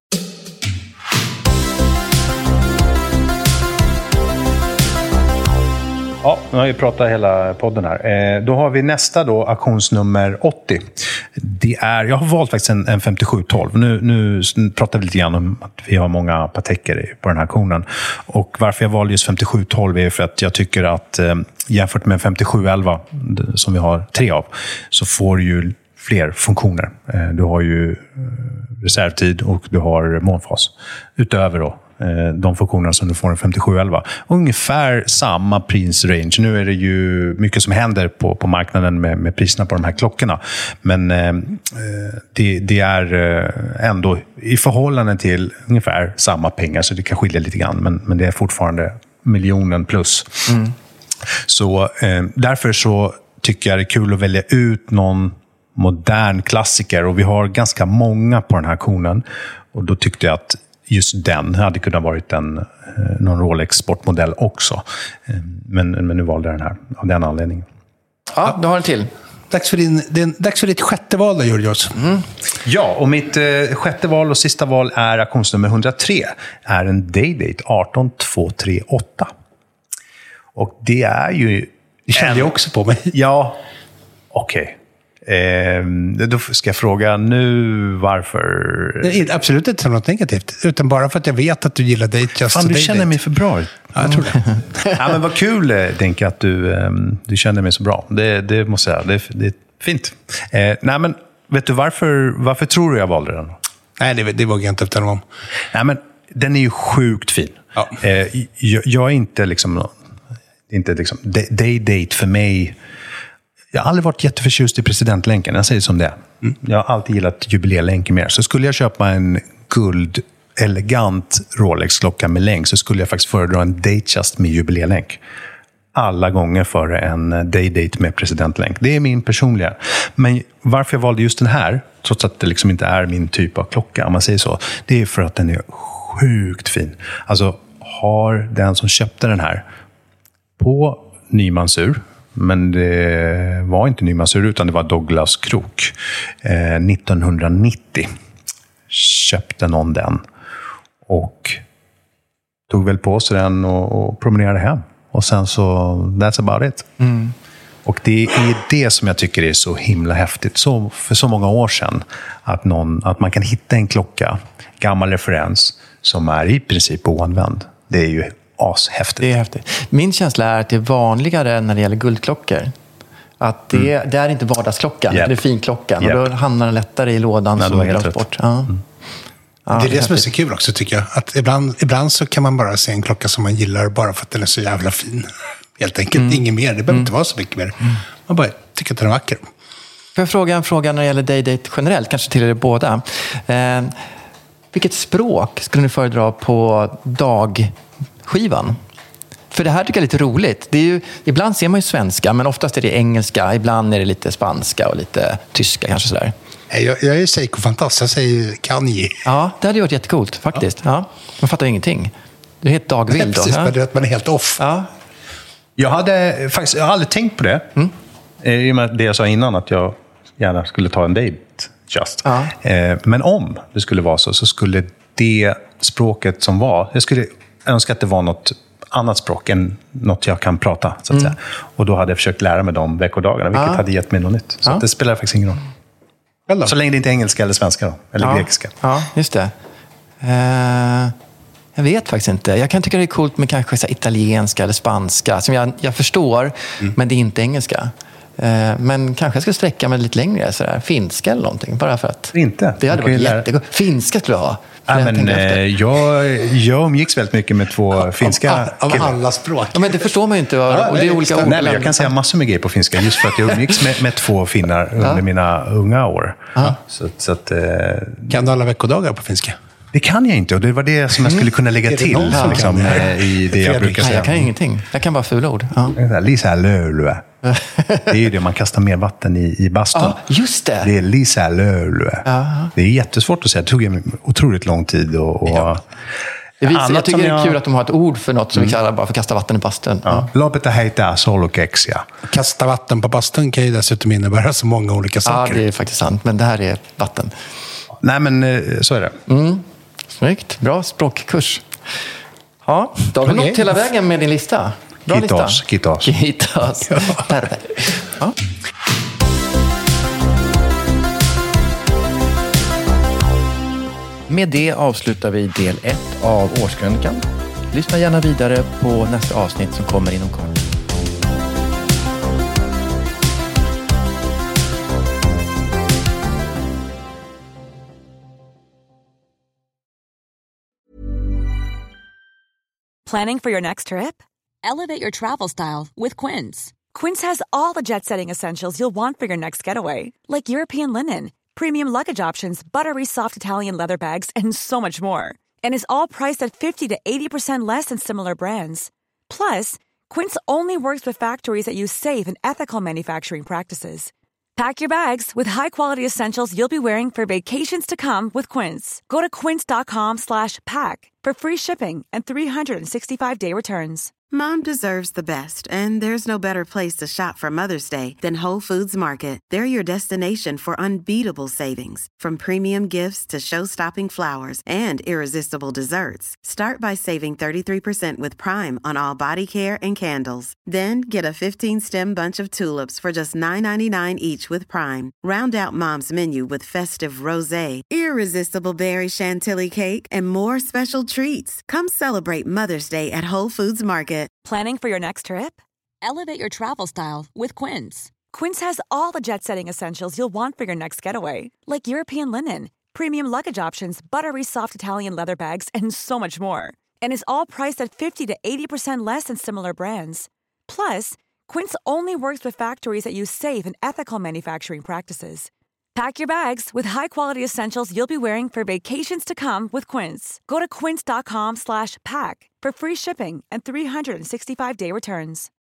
Ja, nu har vi pratat hela podden här. Då har vi nästa då, auktionsnummer 80. Jag har valt faktiskt en 5712. Nu pratar vi lite grann om att vi har många Pateker på den här auktionen. Och varför jag valde just 5712 är för att jag tycker att jämfört med 5711, som vi har 3 av, så får du ju fler funktioner. Du har ju reservtid och du har månfas. Utöver då de funktioner som du får en 5711. Ungefär samma prisrange. Nu är det ju mycket som händer på marknaden med priserna på de här klockorna. Men det är ändå i förhållande till ungefär samma pengar, så det kan skilja lite grann. Men det är fortfarande miljonen plus. Så därför så tycker jag det är kul att välja ut någon modern klassiker. Och vi har ganska många på den här auktionen. Och då tyckte jag att just den hade kunnat varit någon Rolex sportmodell också. Men nu valde jag den här av den anledningen. Ja, du har en till. Dags för ditt sjätte val då, Georgios. Ja, och mitt sjätte val och sista val är auktionsnummer 103. Är en Day-Date 18238. Och det är ju... Det kände jag också på mig. Ja, okej. Då ska jag fråga nu varför... Det är absolut inte något negativt. Utan bara för att jag vet att du gillar Date Just. Fan, du känner mig för bra. Ja, jag tror det. Ja, men vad kul, Denke, att du känner mig så bra. Det måste jag säga. Det är fint. Nej, men vet du varför tror du jag valde den? Nej, det vågar jag inte uttala om. Nej, men den är ju sjukt fin. Ja. Jag är inte liksom... Day-Date för mig... Jag har aldrig varit jätteförtjust i presidentlänken. Jag säger som det. Jag har alltid gillat jubileelänken mer. Så skulle jag köpa en elegant Rolex-klocka med länk så skulle jag faktiskt föredra en Datejust med jubileelänk. Alla gånger före en Day-Date med presidentlänk. Det är min personliga. Men varför jag valde just den här, trots att det liksom inte är min typ av klocka, om man säger så, det är för att den är sjukt fin. Alltså, har den som köpte den här på nymansur, men det var inte nymansur utan det var Douglas krok. 1990 köpte någon den och tog väl på sig den och promenerade hem. Och sen så, that's about it. Och det är det som jag tycker är så himla häftigt. Så för så många år sedan att man kan hitta en klocka, gammal referens, som är i princip oanvänd. Det är ju ashäftigt. Det är häftigt. Min känsla är att det är vanligare när det gäller guldklockor. Att det är inte vardagsklockan, det är finklockan. Och då hamnar den lättare i lådan. Nej, så är det bort. Ja. Ja, det är det som är så kul också, tycker jag. Att ibland så kan man bara se en klocka som man gillar bara för att den är så jävla fin. Helt enkelt, inget mer. Det behöver inte vara så mycket mer. Man bara tycker att den är vacker. Får jag fråga en fråga när det gäller Day-Date generellt, kanske till er båda. Vilket språk skulle ni föredra på dagskivan? För det här tycker jag är lite roligt. Det är ju, ibland ser man ju svenska, men oftast är det engelska. Ibland är det lite spanska och lite tyska kanske sådär. Jag är ju Seiko-fantast. Jag säger Kanye. Ja, det hade ju varit jättekult faktiskt. Ja. Man fattar ingenting. Det är helt dagvild då. Precis, men man är helt off. Ja. Jag har aldrig tänkt på det. I och med det jag sa innan, att jag gärna skulle ta en date just. Ja. Men om det skulle vara så skulle det språket som var... Jag skulle önska att det var något annat språk än något jag kan prata, så att säga. Och då hade jag försökt lära mig de veckodagarna, vilket hade gett mig något nytt. Så det spelar faktiskt ingen roll. Så länge det inte är engelska eller svenska då, eller grekiska. Ja, just det. Jag vet faktiskt inte. Jag kan tycka det är coolt med kanske så italienska eller spanska, som jag förstår, men det är inte engelska. Men kanske jag ska sträcka mig lite längre, sådär. Finska eller någonting, bara för att... Inte? Det hade varit jättegott. Finska skulle jag ha. Jag umgicks väldigt mycket med två finska av alla språk. Ja, men det förstår man ju inte. Och det är olika ord. Nej, men jag kan säga massor med grejer på finska, just för att jag umgicks med två finnar under mina unga år. Så att, kan du alla veckodagar på finska? Det kan jag inte, och det var det som jag skulle kunna lägga till liksom, i det jag brukar säga. Jag kan ingenting. Jag kan bara fula ord. Lisa Löölö. Det är ju det, man kastar mer vatten i bastun. Ja, just det. Det är Lisa Löölö. Det är jättesvårt att säga. Det tog en otroligt lång tid. Jag tycker det är kul att de har ett ord för något som vi kallar bara för kasta vatten i bastun. Loppet är hejta, solokexia. Kasta vatten på bastun kan ju dessutom innebära så många olika saker. Ja, det är faktiskt sant. Men det här är vatten. Nej, men så är det. Snyggt. Bra språkkurs. Ja, då har vi nått hela vägen med din lista. Bra lista. Kittas. Perfekt. Ja. Med det avslutar vi del 1 av Årskrönikan. Lyssna gärna vidare på nästa avsnitt som kommer inom kort. Planning for your next trip? Elevate your travel style with Quince. Quince has all the jet-setting essentials you'll want for your next getaway, like European linen, premium luggage options, buttery soft Italian leather bags, and so much more. And is all priced at 50 to 80% less than similar brands. Plus, Quince only works with factories that use safe and ethical manufacturing practices. Pack your bags with high-quality essentials you'll be wearing for vacations to come with Quince. Go to quince.com/pack for free shipping and 365-day returns. Mom deserves the best, and there's no better place to shop for Mother's Day than Whole Foods Market. They're your destination for unbeatable savings, from premium gifts to show-stopping flowers and irresistible desserts. Start by saving 33% with Prime on all body care and candles. Then get a 15-stem bunch of tulips for just $9.99 each with Prime. Round out Mom's menu with festive rosé, irresistible berry chantilly cake, and more special treats. Come celebrate Mother's Day at Whole Foods Market. Planning for your next trip? Elevate your travel style with Quince. Quince has all the jet-setting essentials you'll want for your next getaway, like European linen, premium luggage options, buttery soft Italian leather bags, and so much more. And is all priced at 50 to 80% less than similar brands. Plus, Quince only works with factories that use safe and ethical manufacturing practices. Pack your bags with high-quality essentials you'll be wearing for vacations to come with Quince. Go to quince.com/pack for free shipping and 365-day returns.